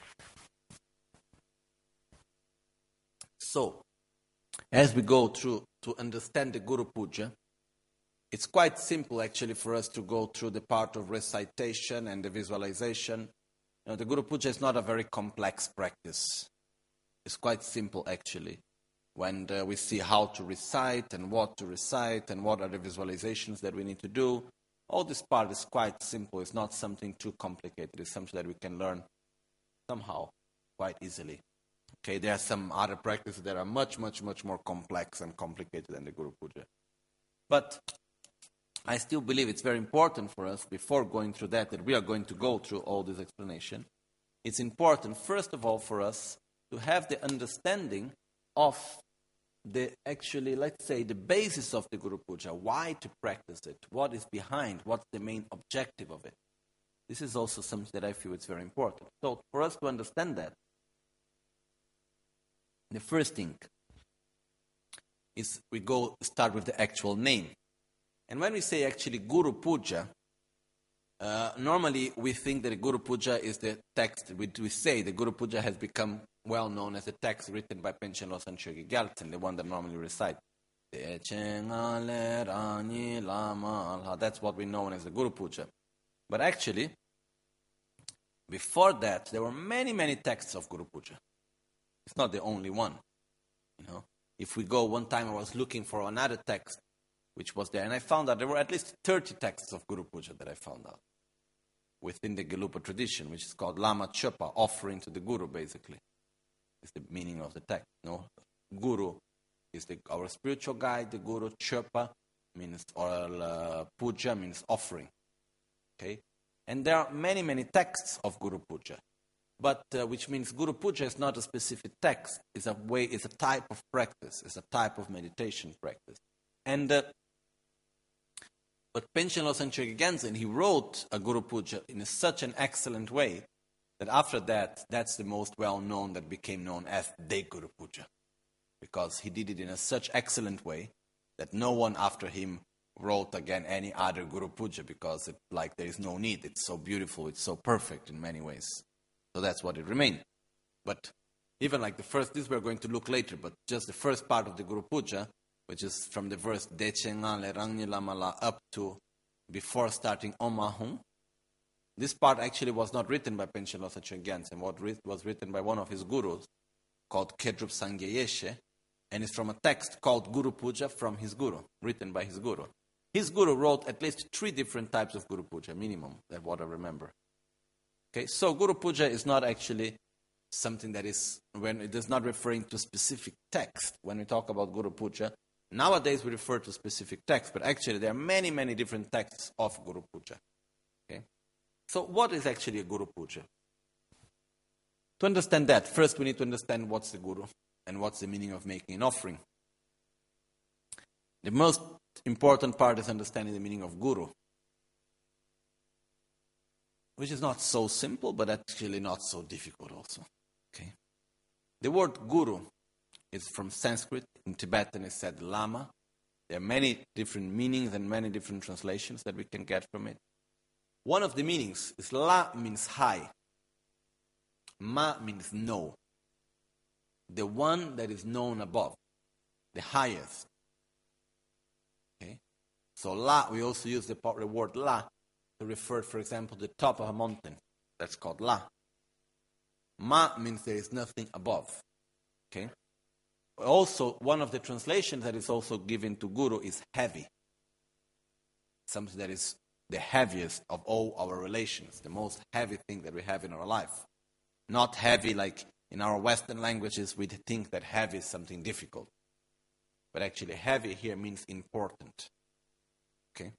so, as we go through to understand the Guru Puja, it's quite simple actually for us to go through the part of recitation and the visualization. You know, the Guru Puja is not a very complex practice. It's quite simple actually. When we see how to recite and what are the visualizations that we need to do, all this part is quite simple. It's not something too complicated. It's something that we can learn somehow quite easily. Okay, there are some other practices that are much more complex and complicated than the Guru Puja. But I still believe it's very important for us, before going through that we are going to go through all this explanation. It's important, first of all, for us to have the understanding of the basis of the Guru Puja, why to practice it, what is behind, what's the main objective of it. This is also something that I feel is very important. So for us to understand that, the first thing is we start with the actual name. And when we say actually Guru Puja, normally we think that Guru Puja is the text. We say the Guru Puja has become well known as a text written by Panchen Losang Chogi Gyaltsen, the one that normally recite. That's what we know as the Guru Puja. But actually, before that, there were many, many texts of Guru Puja. It's not the only one. If we go, one time I was looking for another text which was there, and I found out there were at least 30 texts of Guru Puja that I found out within the Gelupa tradition, which is called Lama Chopa, offering to the Guru, basically. It's the meaning of the text. Guru is our spiritual guide. The Guru Chopa means, or Puja means offering. Okay, and there are many, many texts of Guru Puja, but which means Guru Puja is not a specific text. It's a type of practice. It's a type of meditation practice. And but Panchen Losang Chogi Gyaltsen, he wrote a Guru Puja in such an excellent way that after that, that's the most well-known, that became known as the Guru Puja, because he did it in such excellent way that no one after him wrote again any other Guru Puja, because there is no need. It's so beautiful, it's so perfect in many ways. So that's what it remained. But even like the first, this we're going to look later, but just the first part of the Guru Puja, which is from the verse Dechenga Le Rangni Lamala up to before starting Om Ahum. This part actually was not written by Panchen Losang Chogi Gyaltsen. What was written by one of his gurus called Kedrup Sangye Yeshe, and it's from a text called Guru Puja from his guru, written by his guru. His guru wrote at least 3 different types of Guru Puja, minimum, that's what I remember. Okay, so Guru Puja is not actually something that is, when it is not referring to specific text. When we talk about Guru Puja, nowadays we refer to specific text, but actually there are many, many different texts of Guru Puja. Okay, so what is actually a Guru Puja? To understand that, first we need to understand what's the Guru and what's the meaning of making an offering. The most important part is understanding the meaning of Guru, which is not so simple, but actually not so difficult also. Okay, the word Guru is from Sanskrit. In Tibetan it's said Lama. There are many different meanings and many different translations that we can get from it. One of the meanings is La means high, Ma means know, the one that is known above, the highest. Okay, so La, we also use the word La to refer, for example, to the top of a mountain. That's called La. Ma means there is nothing above. Okay. Also, one of the translations that is also given to Guru is heavy. Something that is the heaviest of all our relations, the most heavy thing that we have in our life. Not heavy like in our Western languages, we think that heavy is something difficult. But actually heavy here means important. Okay.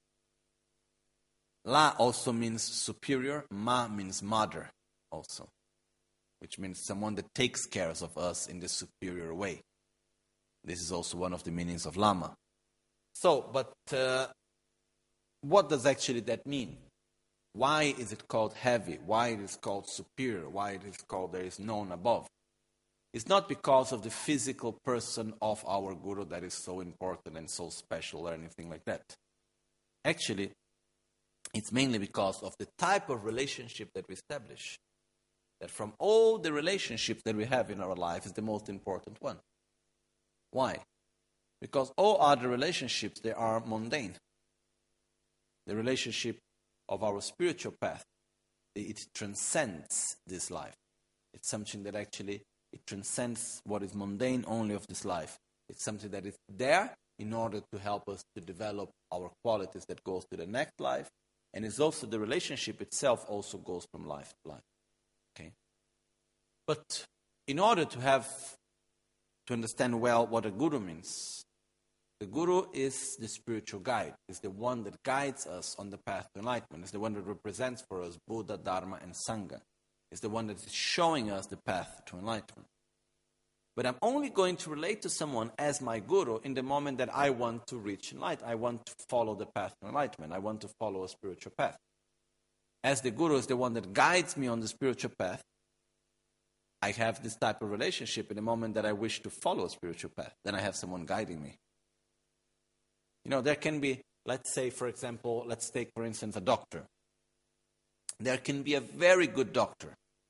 La also means superior. Ma means mother also, which means someone that takes care of us in the superior way. This is also one of the meanings of Lama. So, but what does actually that mean? Why is it called heavy? Why it is called superior? Why it is called there is none above? It's not because of the physical person of our Guru that is so important and so special or anything like that. Actually, it's mainly because of the type of relationship that we establish. That from all the relationships that we have in our life is the most important one. Why? Because all other relationships, they are mundane. The relationship of our spiritual path, it transcends this life. It's something that actually, it transcends what is mundane only of this life. It's something that is there in order to help us to develop our qualities that goes to the next life. And it's also the relationship itself also goes from life to life. Okay. But in order to understand well what a Guru means, the Guru is the spiritual guide. It's the one that guides us on the path to enlightenment. It's the one that represents for us Buddha, Dharma, and Sangha. It's the one that is showing us the path to enlightenment. But I'm only going to relate to someone as my Guru in the moment that I want to reach enlightenment. I want to follow the path to enlightenment. I want to follow a spiritual path. as the Guru is the one that guides me on the spiritual path, I have this type of relationship in the moment that I wish to follow a spiritual path. Then I have someone guiding me. There can be, let's say, for example, let's take, for instance, a doctor. There can be a very good doctor.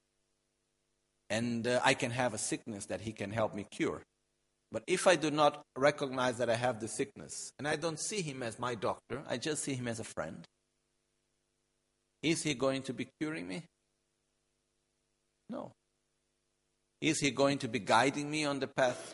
And I can have a sickness that he can help me cure. But if I do not recognize that I have the sickness, and I don't see him as my doctor, I just see him as a friend, is he going to be curing me? No. Is he going to be guiding me on the path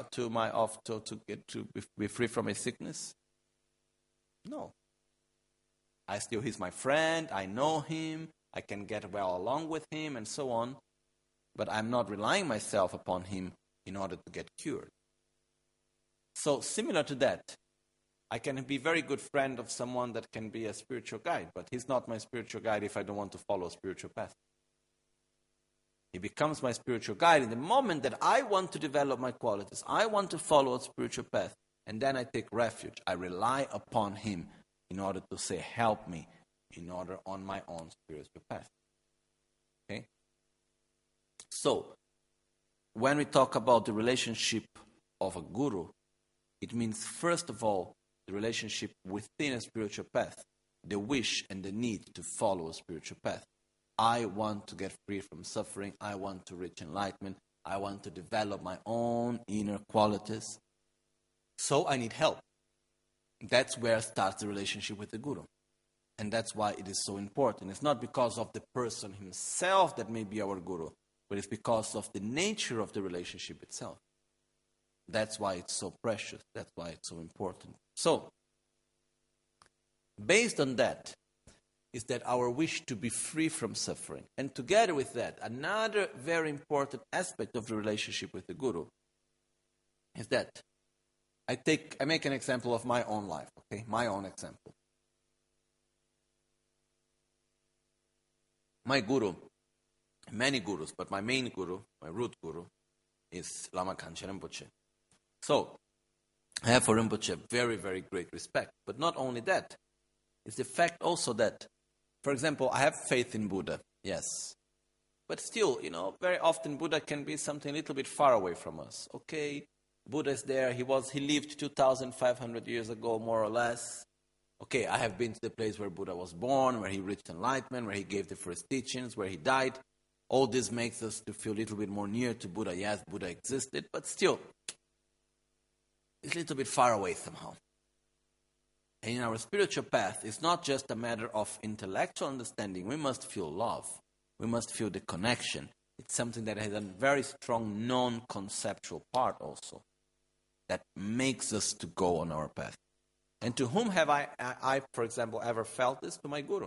to be free from a sickness? No. He's my friend, I know him, I can get well along with him, and so on. But I'm not relying myself upon him in order to get cured. So similar to that, I can be a very good friend of someone that can be a spiritual guide, but he's not my spiritual guide if I don't want to follow a spiritual path. He becomes my spiritual guide in the moment that I want to develop my qualities. I want to follow a spiritual path. And then I take refuge. I rely upon him in order to say, help me in order on my own spiritual path. Okay? So, when we talk about the relationship of a guru, it means, first of all, the relationship within a spiritual path, the wish and the need to follow a spiritual path. I want to get free from suffering. I want to reach enlightenment. I want to develop my own inner qualities. So I need help. That's where starts the relationship with the Guru. And that's why it is so important. It's not because of the person himself that may be our Guru, but it's because of the nature of the relationship itself. That's why it's so precious. That's why it's so important. So, based on that, is that our wish to be free from suffering. And together with that, another very important aspect of the relationship with the Guru is that I make an example of my own life, okay? My own example. My Guru, many Gurus, but my main Guru, my root Guru, is Lama Kanchen Rinpoche. So, I have for Rinpoche very, very great respect. But not only that, it's the fact also that, for example, I have faith in Buddha, yes. But still, very often Buddha can be something a little bit far away from us. Okay, Buddha is there, he lived 2,500 years ago, more or less. Okay, I have been to the place where Buddha was born, where he reached enlightenment, where he gave the first teachings, where he died. All this makes us to feel a little bit more near to Buddha. Yes, Buddha existed, but still, it's a little bit far away somehow. And in our spiritual path, it's not just a matter of intellectual understanding. We must feel love. We must feel the connection. It's something that has a very strong non-conceptual part also that makes us to go on our path. And to whom have I, for example, ever felt this? To my Guru.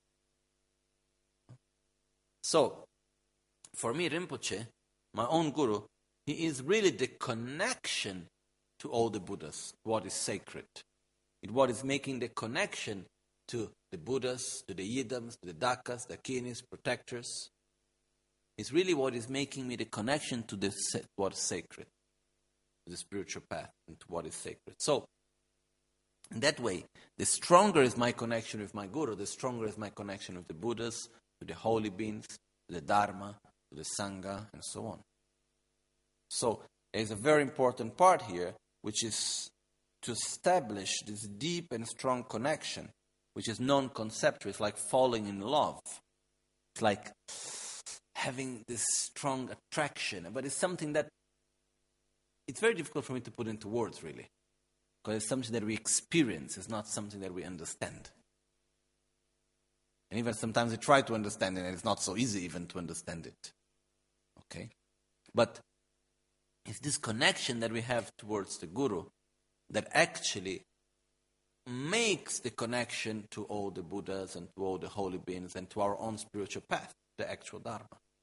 So, for me, Rinpoche, my own Guru, he is really the connection to all the Buddhas, what is sacred. It's what is making the connection to the Buddhas, to the Yidams, to the Dakas, the Akinis, protectors. It's really what is making me the connection to what is sacred, to the spiritual path, and to what is sacred. So, in that way, the stronger is my connection with my Guru, the stronger is my connection with the Buddhas, to the holy beings, to the Dharma, to the Sangha, and so on. So, there's a very important part here, which is to establish this deep and strong connection, which is non-conceptual. It's like falling in love. It's like having this strong attraction. But it's something that it's very difficult for me to put into words, really. Because it's something that we experience. It's not something that we understand. And even sometimes we try to understand it, and it's not so easy even to understand it. Okay? But it's this connection that we have towards the Guru that actually makes the connection to all the Buddhas and to all the holy beings and to our own spiritual path, the actual Dharma.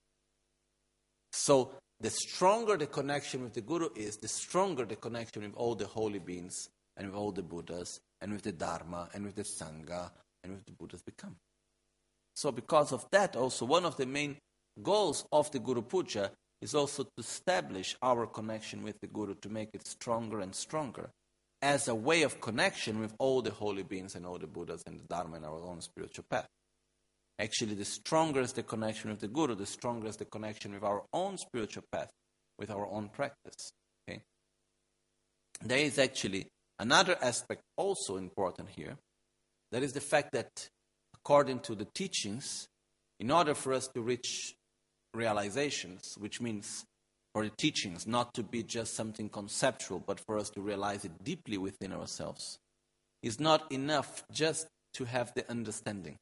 So, the stronger the connection with the Guru is, the stronger the connection with all the holy beings and with all the Buddhas and with the Dharma and with the Sangha and with the Buddhas become. So, because of that also, one of the main goals of the Guru Puja is also to establish our connection with the Guru, to make it stronger and stronger, as a way of connection with all the holy beings and all the Buddhas and the Dharma and our own spiritual path. Actually, the stronger is the connection with the Guru, the stronger is the connection with our own spiritual path, with our own practice. Okay? There is actually another aspect also important here. That is the fact that, according to the teachings, in order for us to reach realizations, which means for the teachings not to be just something conceptual, but for us to realize it deeply within ourselves, it's not enough just to have the understanding.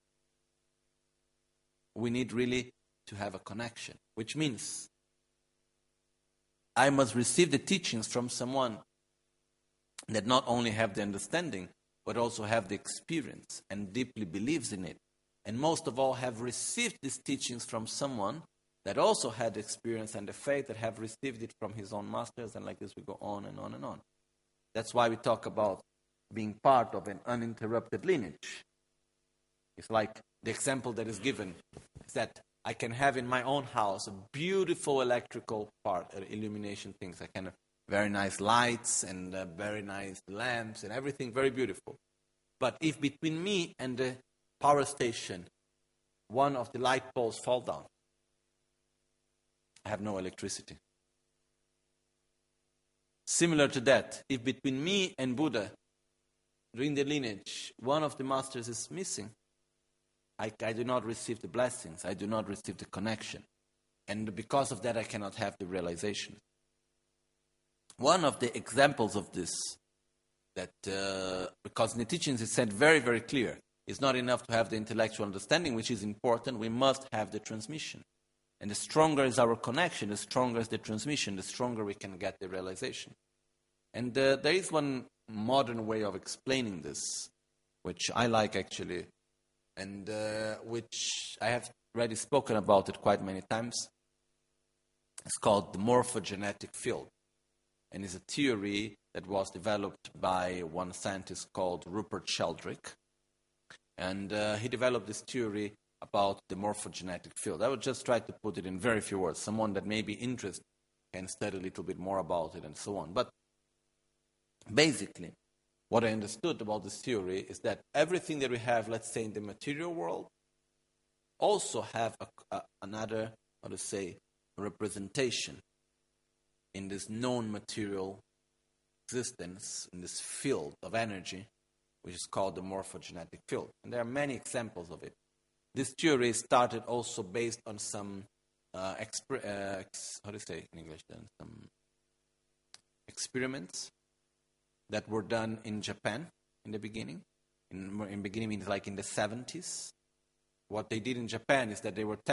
We need really to have a connection, which means I must receive the teachings from someone that not only have the understanding, but also have the experience and deeply believes in it. And most of all, have received these teachings from someone that also had the experience and the faith, that have received it from his own masters, and like this we go on and on and on. That's why we talk about being part of an uninterrupted lineage. It's like the example that is given is that I can have in my own house a beautiful electrical illumination things. I can have very nice lights and very nice lamps and everything very beautiful. But if between me and the power station one of the light poles fall down, I have no electricity. Similar to that, if between me and Buddha, during the lineage, one of the masters is missing, I do not receive the blessings, I do not receive the connection. And because of that, I cannot have the realization. One of the examples of this, that because in the teachings it said very, very clear, it's not enough to have the intellectual understanding, which is important, we must have the transmission. And the stronger is our connection, the stronger is the transmission, the stronger we can get the realization. And there is one modern way of explaining this, which I like actually, and which I have already spoken about it quite many times. It's called the morphogenetic field. And it's a theory that was developed by one scientist called Rupert Sheldrake. And he developed this theory about the morphogenetic field. I would just try to put it in very few words. Someone that may be interested can study a little bit more about it and so on. But basically, what I understood about this theory is that everything that we have, let's say, in the material world, also have another, representation in this known material existence, in this field of energy, which is called the morphogenetic field. And there are many examples of it. This theory started also based on some, some experiments that were done in Japan in the beginning. In beginning means like in the 70s. What they did in Japan is that they were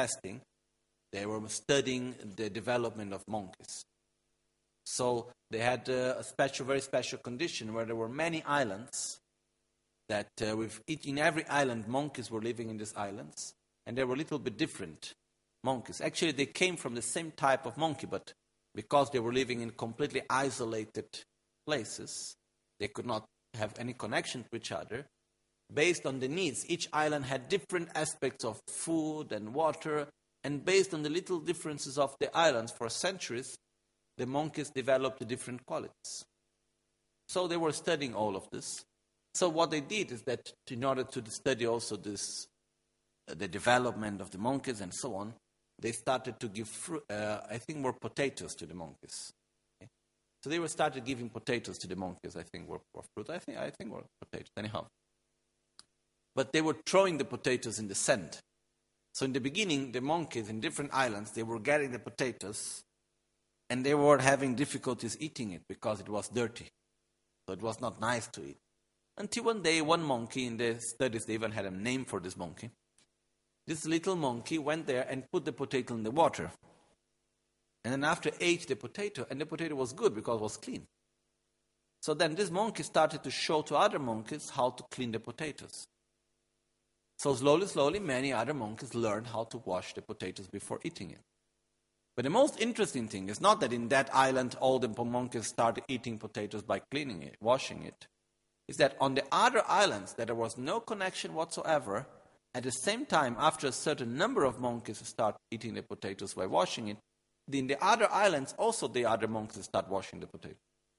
studying the development of monkeys. So they had a very special condition where there were many islands that in every island, monkeys were living in these islands, and they were a little bit different monkeys. Actually, they came from the same type of monkey, but because they were living in completely isolated places, they could not have any connection to each other. Based on the needs, each island had different aspects of food and water, and based on the little differences of the islands for centuries, the monkeys developed different qualities. So they were studying all of this. So what they did is that in order to study also this, the development of the monkeys and so on, they started to give potatoes to the monkeys. Okay? So they started giving potatoes to the monkeys. I think were fruit. I think were potatoes. Anyhow, but they were throwing the potatoes in the sand. So in the beginning, the monkeys in different islands, they were getting the potatoes, and they were having difficulties eating it because it was dirty. So it was not nice to eat. Until one day, one monkey, in the studies they even had a name for this monkey. This little monkey went there and put the potato in the water. And then after ate the potato, and the potato was good because it was clean. So then this monkey started to show to other monkeys how to clean the potatoes. So slowly, many other monkeys learned how to wash the potatoes before eating it. But the most interesting thing is not that in that island all the monkeys started eating potatoes by cleaning it, washing it. Is that on the other islands that there was no connection whatsoever, at the same time, after a certain number of monkeys start eating the potatoes by washing it, in the other islands also the other monkeys start washing the potatoes.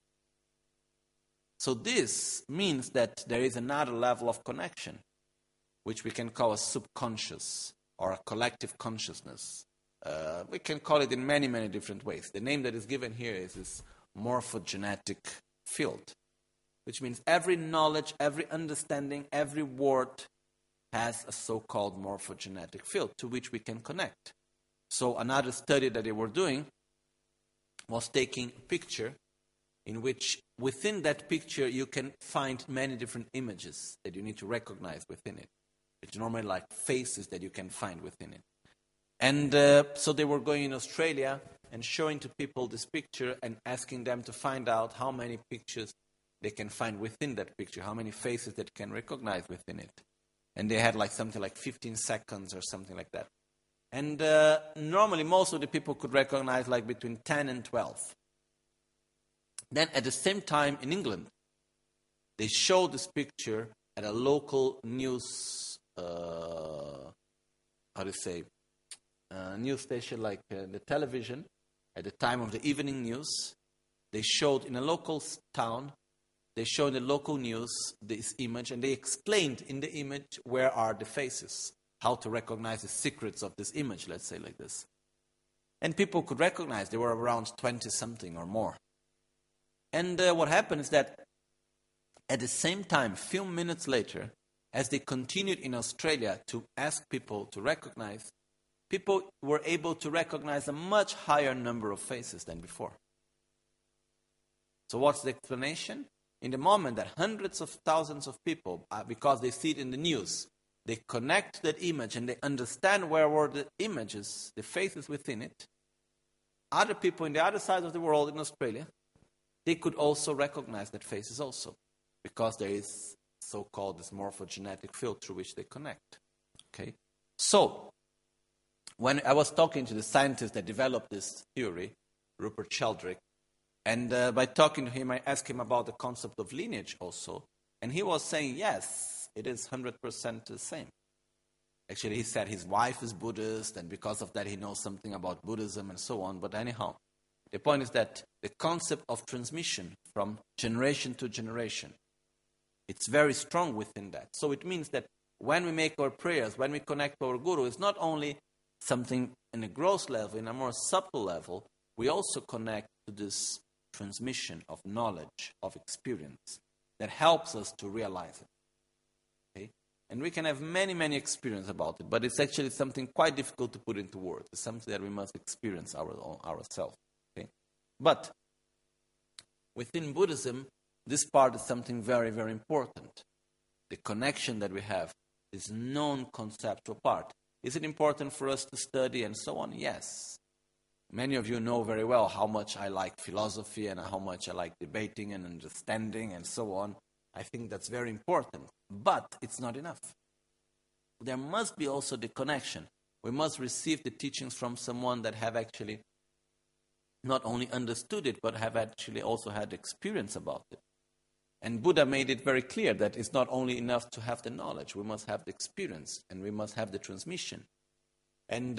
So this means that there is another level of connection, which we can call a subconscious or a collective consciousness. We can call it in many, many different ways. The name that is given here is this morphogenetic field, which means every knowledge, every understanding, every word has a so-called morphogenetic field to which we can connect. So another study that they were doing was taking a picture in which within that picture you can find many different images that you need to recognize within it. It's normally like faces that you can find within it. And so they were going in Australia and showing to people this picture and asking them to find out how many pictures they can find within that picture, how many faces that can recognize within it. And they had like something like 15 seconds or something like that. And normally most of the people could recognize like between 10 and 12. Then at the same time in England, they showed this picture at a local news, news station like the television. At the time of the evening news, they showed in a local town, they showed in the local news this image, and they explained in the image where are the faces, how to recognize the secrets of this image, let's say like this. And people could recognize, they were around 20-something or more. And what happened is that at the same time, a few minutes later, as they continued in Australia to ask people to recognize, people were able to recognize a much higher number of faces than before. So what's the explanation? In the moment that hundreds of thousands of people, because they see it in the news, they connect that image and they understand where were the images, the faces within it, other people in the other side of the world in Australia, they could also recognize that faces also, because there is so-called this morphogenetic field through which they connect. Okay, so when I was talking to the scientist that developed this theory, Rupert Sheldrake, and by talking to him, I asked him about the concept of lineage also, and he was saying, yes, it is 100% the same. Actually, he said his wife is Buddhist, and because of that he knows something about Buddhism and so on, but anyhow, the point is that the concept of transmission from generation to generation, it's very strong within that. So it means that when we make our prayers, when we connect to our Guru, it's not only something in a gross level, in a more subtle level, we also connect to this transmission of knowledge, of experience, that helps us to realize it. Okay? And we can have many, many experiences about it, but it's actually something quite difficult to put into words. It's something that we must experience ourselves. Okay? But within Buddhism, this part is something very, very important. The connection that we have, this non-conceptual part. Is it important for us to study and so on? Yes. Many of you know very well how much I like philosophy and how much I like debating and understanding and so on. I think that's very important. But it's not enough. There must be also the connection. We must receive the teachings from someone that have actually not only understood it, but have actually also had experience about it. And Buddha made it very clear that it's not only enough to have the knowledge, we must have the experience and we must have the transmission. And,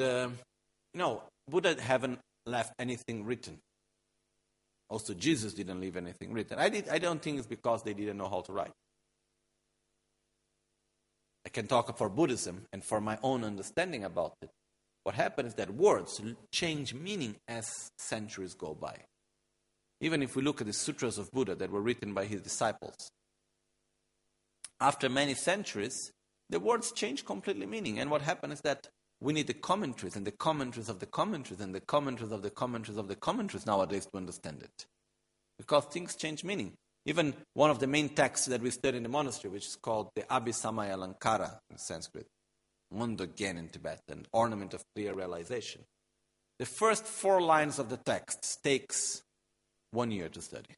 Buddha haven't left anything written. Also, Jesus didn't leave anything written. I don't think it's because they didn't know how to write. I can talk for Buddhism and for my own understanding about it. What happens is that words change meaning as centuries go by. Even if we look at the sutras of Buddha that were written by his disciples, after many centuries, the words change completely meaning. And what happened is that we need the commentaries and the commentaries of the commentaries and the commentaries of the commentaries of the commentaries nowadays to understand it. Because things change meaning. Even one of the main texts that we study in the monastery, which is called the Abhisamaya Alankara in Sanskrit, Mundogyen in Tibetan, Ornament of Clear Realization. The first 4 lines of the text takes 1 year to study.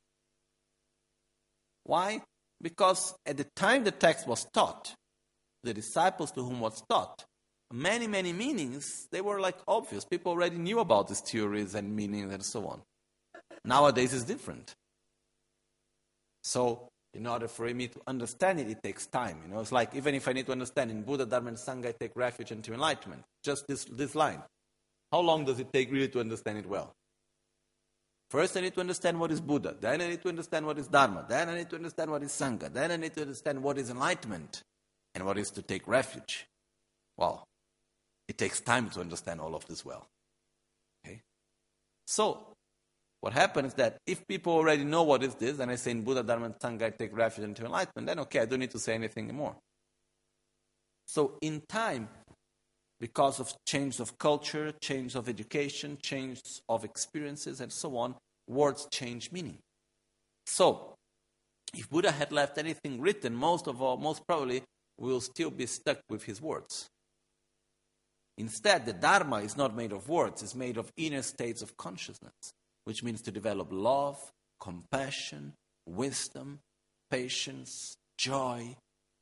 Why? Because at the time the text was taught, the disciples to whom was taught, many, many meanings, they were like obvious. People already knew about these theories and meanings and so on. Nowadays it's different. So, in order for me to understand it, it takes time. It's like, even if I need to understand in Buddha, Dharma, and Sangha, I take refuge into enlightenment. Just this line. How long does it take really to understand it well? First, I need to understand what is Buddha. Then I need to understand what is Dharma. Then I need to understand what is Sangha. Then I need to understand what is enlightenment and what is to take refuge. Wow. It takes time to understand all of this well. Okay? So, what happens is that if people already know what is this, and I say in Buddha, Dharma, and Sangha, I take refuge into enlightenment, then okay, I don't need to say anything anymore. So in time, because of change of culture, change of education, change of experiences, and so on, words change meaning. So, if Buddha had left anything written, most probably, we will still be stuck with his words. Instead, the Dharma is not made of words, it's made of inner states of consciousness, which means to develop love, compassion, wisdom, patience, joy,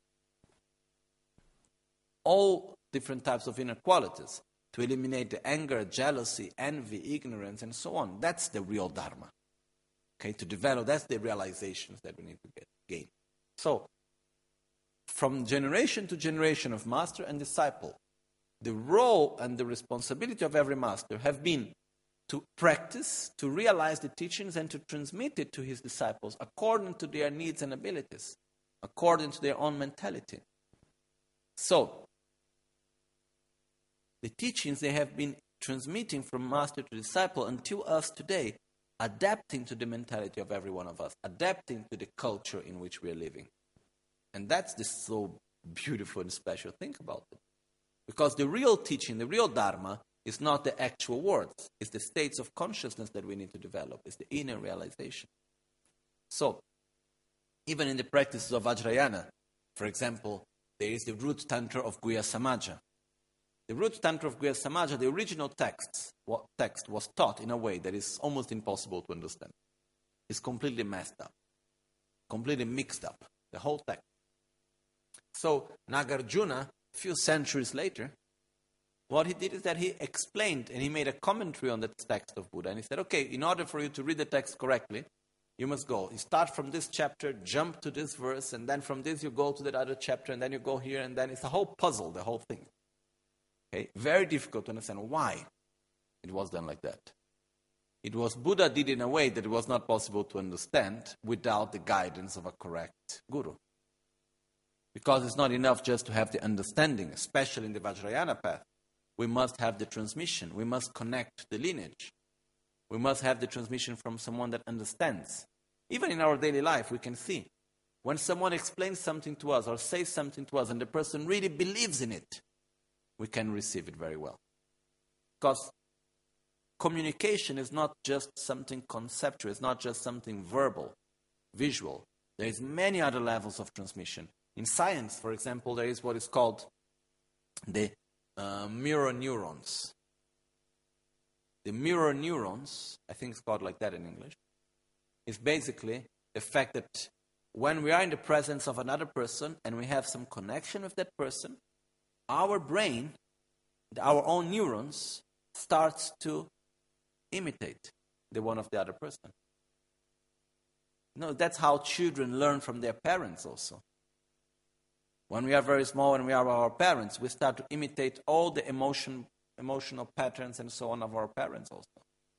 all different types of inner qualities, to eliminate the anger, jealousy, envy, ignorance, and so on. That's the real Dharma. Okay, to develop, that's the realizations that we need to gain. So, from generation to generation of master and disciple, the role and the responsibility of every master have been to practice, to realize the teachings and to transmit it to his disciples according to their needs and abilities, according to their own mentality. So, the teachings they have been transmitting from master to disciple until us today, adapting to the mentality of every one of us, adapting to the culture in which we are living. And that's the so beautiful and special thing about it. Because the real teaching, the real Dharma, is not the actual words. It's the states of consciousness that we need to develop. It's the inner realization. So, even in the practices of Vajrayana, for example, there is the root tantra of Guhya Samaja. The root tantra of Guhya Samaja, the original text was taught in a way that is almost impossible to understand. It's completely messed up, completely mixed up, the whole text. So Nagarjuna, a few centuries later, what he did is that he explained and he made a commentary on the text of Buddha. And he said, okay, in order for you to read the text correctly, you must go. You start from this chapter, jump to this verse, and then from this you go to that other chapter, and then you go here, and then it's a whole puzzle, the whole thing. Okay? Very difficult to understand why it was done like that. It was Buddha did in a way that it was not possible to understand without the guidance of a correct guru. Because it's not enough just to have the understanding, especially in the Vajrayana path. We must have the transmission. We must connect the lineage. We must have the transmission from someone that understands. Even in our daily life, we can see when someone explains something to us or says something to us and the person really believes in it, we can receive it very well. Because communication is not just something conceptual, it's not just something verbal, visual. There is many other levels of transmission. In science, for example, there is what is called the mirror neurons. The mirror neurons, I think it's called like that in English, is basically the fact that when we are in the presence of another person and we have some connection with that person, our brain, our own neurons, starts to imitate the one of the other person. No, that's how children learn from their parents also. When we are very small and we are our parents, we start to imitate all the emotional patterns and so on of our parents also.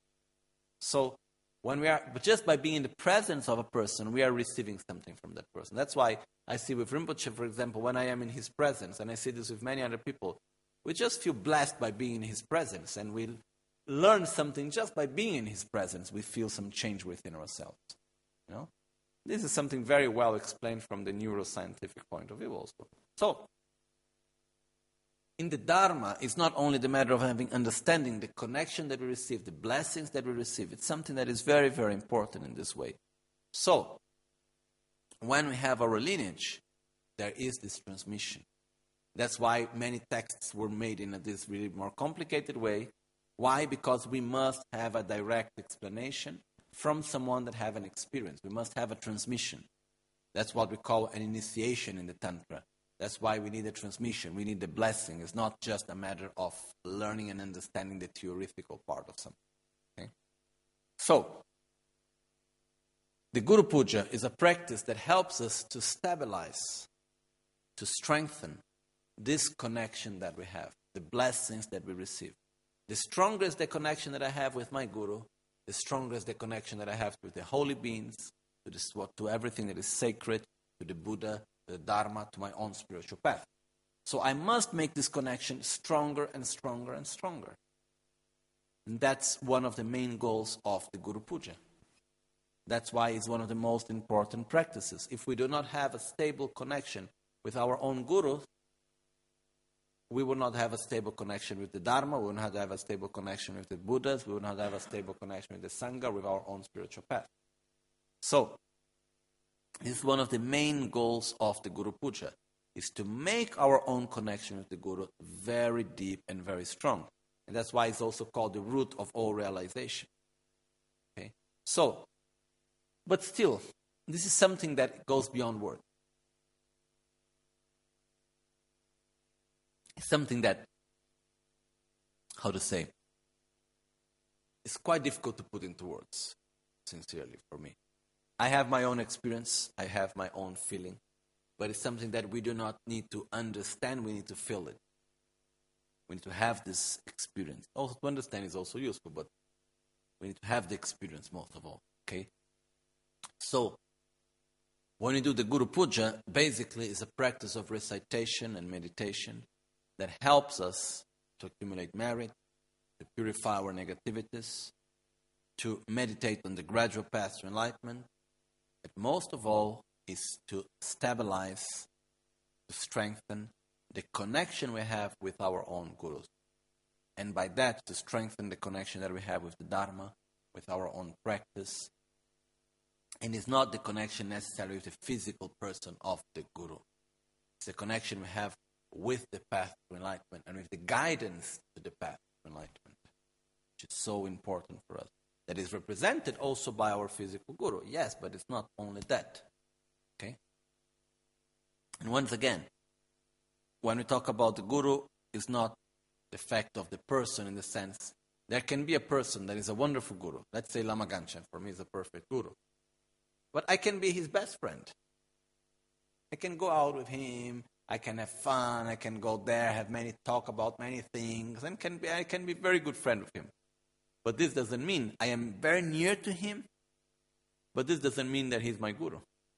So, but just by being in the presence of a person, we are receiving something from that person. That's why I see with Rinpoche, for example, when I am in his presence, and I see this with many other people, we just feel blessed by being in his presence, and we learn something just by being in his presence. We feel some change within ourselves. You know? This is something very well explained from the neuroscientific point of view also. So, in the Dharma, it's not only the matter of having understanding, the connection that we receive, the blessings that we receive. It's something that is very, very important in this way. So, when we have our lineage, there is this transmission. That's why many texts were made in this really more complicated way. Why? Because we must have a direct explanation from someone that have an experience. We must have a transmission. That's what we call an initiation in the Tantra. That's why we need a transmission. We need the blessing. It's not just a matter of learning and understanding the theoretical part of something. Okay? So, the Guru Puja is a practice that helps us to stabilize, to strengthen this connection that we have, the blessings that we receive. The stronger is the connection that I have with my Guru, the stronger is the connection that I have with the holy beings, to everything that is sacred, to the Buddha, to the Dharma, to my own spiritual path. So I must make this connection stronger and stronger and stronger. And that's one of the main goals of the Guru Puja. That's why it's one of the most important practices. If we do not have a stable connection with our own Guru, we will not have a stable connection with the Dharma, we will not have a stable connection with the Buddhas, we will not have a stable connection with the Sangha, with our own spiritual path. So, this is one of the main goals of the Guru Puja, is to make our own connection with the Guru very deep and very strong. And that's why it's also called the root of all realization. Okay? So, but still, this is something that goes beyond words. It's something that, how to say, it's quite difficult to put into words, sincerely, for me. I have my own experience, I have my own feeling, but it's something that we do not need to understand, we need to feel it. We need to have this experience. Also, to understand is also useful, but we need to have the experience most of all, okay? So, when we do the Guru Puja, basically it's a practice of recitation and meditation that helps us to accumulate merit, to purify our negativities, to meditate on the gradual path to enlightenment, but most of all is to stabilize, to strengthen the connection we have with our own Gurus. And by that, to strengthen the connection that we have with the Dharma, with our own practice. And it's not the connection necessarily with the physical person of the Guru. It's the connection we have with the path to enlightenment and with the guidance to the path to enlightenment, which is so important for us. That is represented also by our physical Guru. Yes, but it's not only that. Okay? And once again, when we talk about the Guru, it's not the fact of the person in the sense, there can be a person that is a wonderful Guru. Let's say Lama Ganchen, for me is a perfect Guru. But I can be his best friend. I can go out with him, I can have fun, I can go there, have many talk about many things, and I can be a very good friend with him. But this doesn't mean I am very near to him, but this doesn't mean that he's my Guru.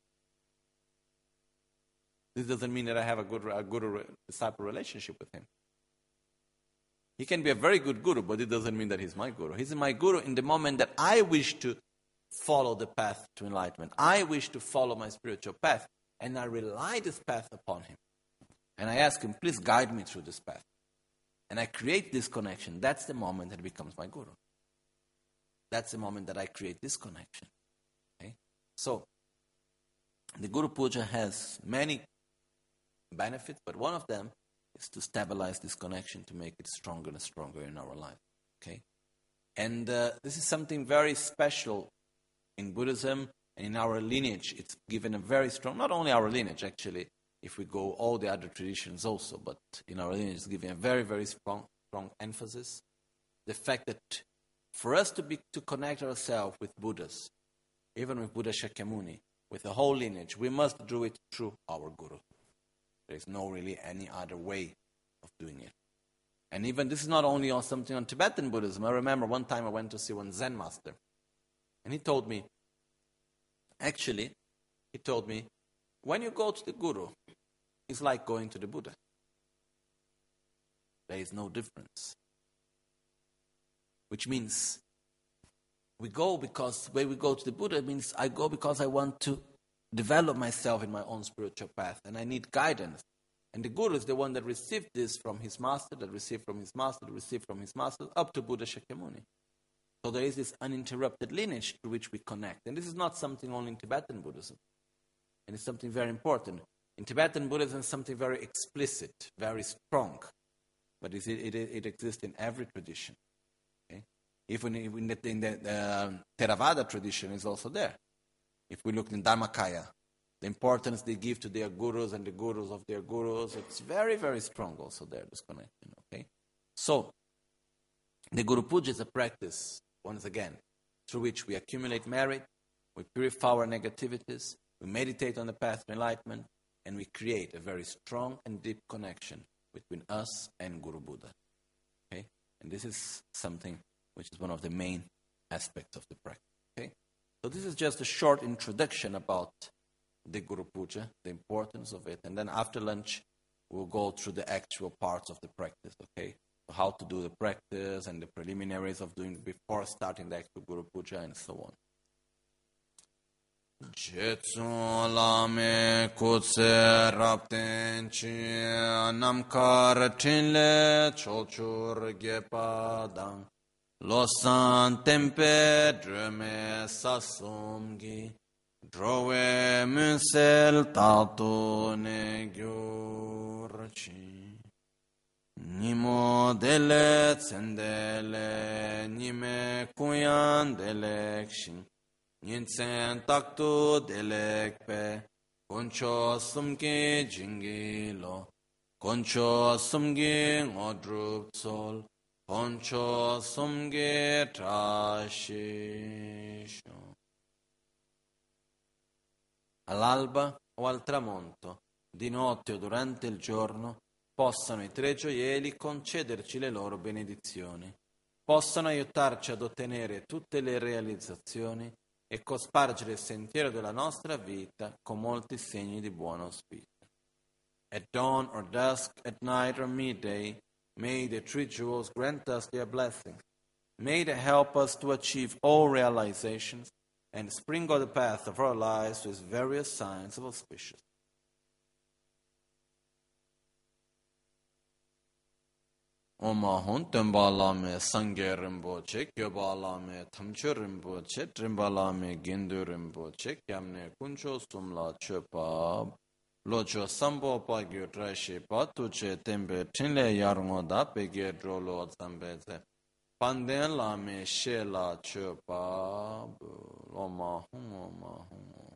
This doesn't mean that I have a guru-disciple relationship with him. He can be a very good Guru, but it doesn't mean that he's my Guru. He's my Guru in the moment that I wish to follow the path to enlightenment. I wish to follow my spiritual path, and I rely this path upon him. And I ask him, please guide me through this path. And I create this connection. That's the moment that he becomes my Guru. That's the moment that I create this connection. Okay? So, the Guru Puja has many benefits, but one of them is to stabilize this connection, to make it stronger and stronger in our life. Okay? And this is something very special in Buddhism and in our lineage. It's given a very strong, not only our lineage actually, if we go all the other traditions also, but in our lineage it's given a very, very strong emphasis. The fact that for us to connect ourselves with Buddhas, even with Buddha Shakyamuni, with the whole lineage, we must do it through our Guru. There is no really any other way of doing it. And even this is not only on something on Tibetan Buddhism. I remember one time I went to see one Zen master, and he told me, when you go to the Guru, it's like going to the Buddha. There is no difference. Which means we go because when we go to the Buddha, it means I go because I want to develop myself in my own spiritual path, and I need guidance. And the Guru is the one that received this from his master, that received from his master, that received from his master, up to Buddha Shakyamuni. So there is this uninterrupted lineage through which we connect. And this is not something only in Tibetan Buddhism. And it's something very important. In Tibetan Buddhism, it's something very explicit, very strong. But it exists in every tradition. Okay? Even in the Theravada tradition is also there. If we look in Dharmakaya, the importance they give to their gurus and the gurus of their gurus, it's very, very strong also there, this connection. Okay? So, the Guru Puja is a practice, once again, through which we accumulate merit, we purify our negativities, we meditate on the path to enlightenment, and we create a very strong and deep connection between us and Guru Buddha. Okay? And this is something which is one of the main aspects of the practice. Okay? So this is just a short introduction about the Guru Puja, the importance of it. And then after lunch, we'll go through the actual parts of the practice, okay? So how to do the practice and the preliminaries of doing before starting the actual Guru Puja and so on. Jetsun lame kutse rapten chi namkar tinle chochur gepadang losan tempe dreme sasumgi drove munsel tato ne gyurchi nimo dele tsendele nime kuyan delekshin Nintsen taktu delekpe, koncho sumki jingi lo, koncho sumgi ngodrup sol, koncho sumgi trascisho. All'alba o al tramonto, di notte o durante il giorno, possano i tre gioielli concederci le loro benedizioni, possano aiutarci ad ottenere tutte le realizzazioni e cospargere il sentiero della nostra vita con molti segni di buon auspicio. At dawn or dusk, at night or midday, may the three jewels grant us their blessings. May they help us to achieve all realizations and sprinkle the path of our lives with various signs of auspicious. Oma hon tenpa lame sangye rinpoche, gyoba lame tamche rinpoche, trimpa lame gindu rinpoche, kyamne kuncho sumla chepa, locho sambo pa gyo trashi pa tuche tempe tinle yarngo da pege drolo zambeze, panden lame she la chepa, oma hon.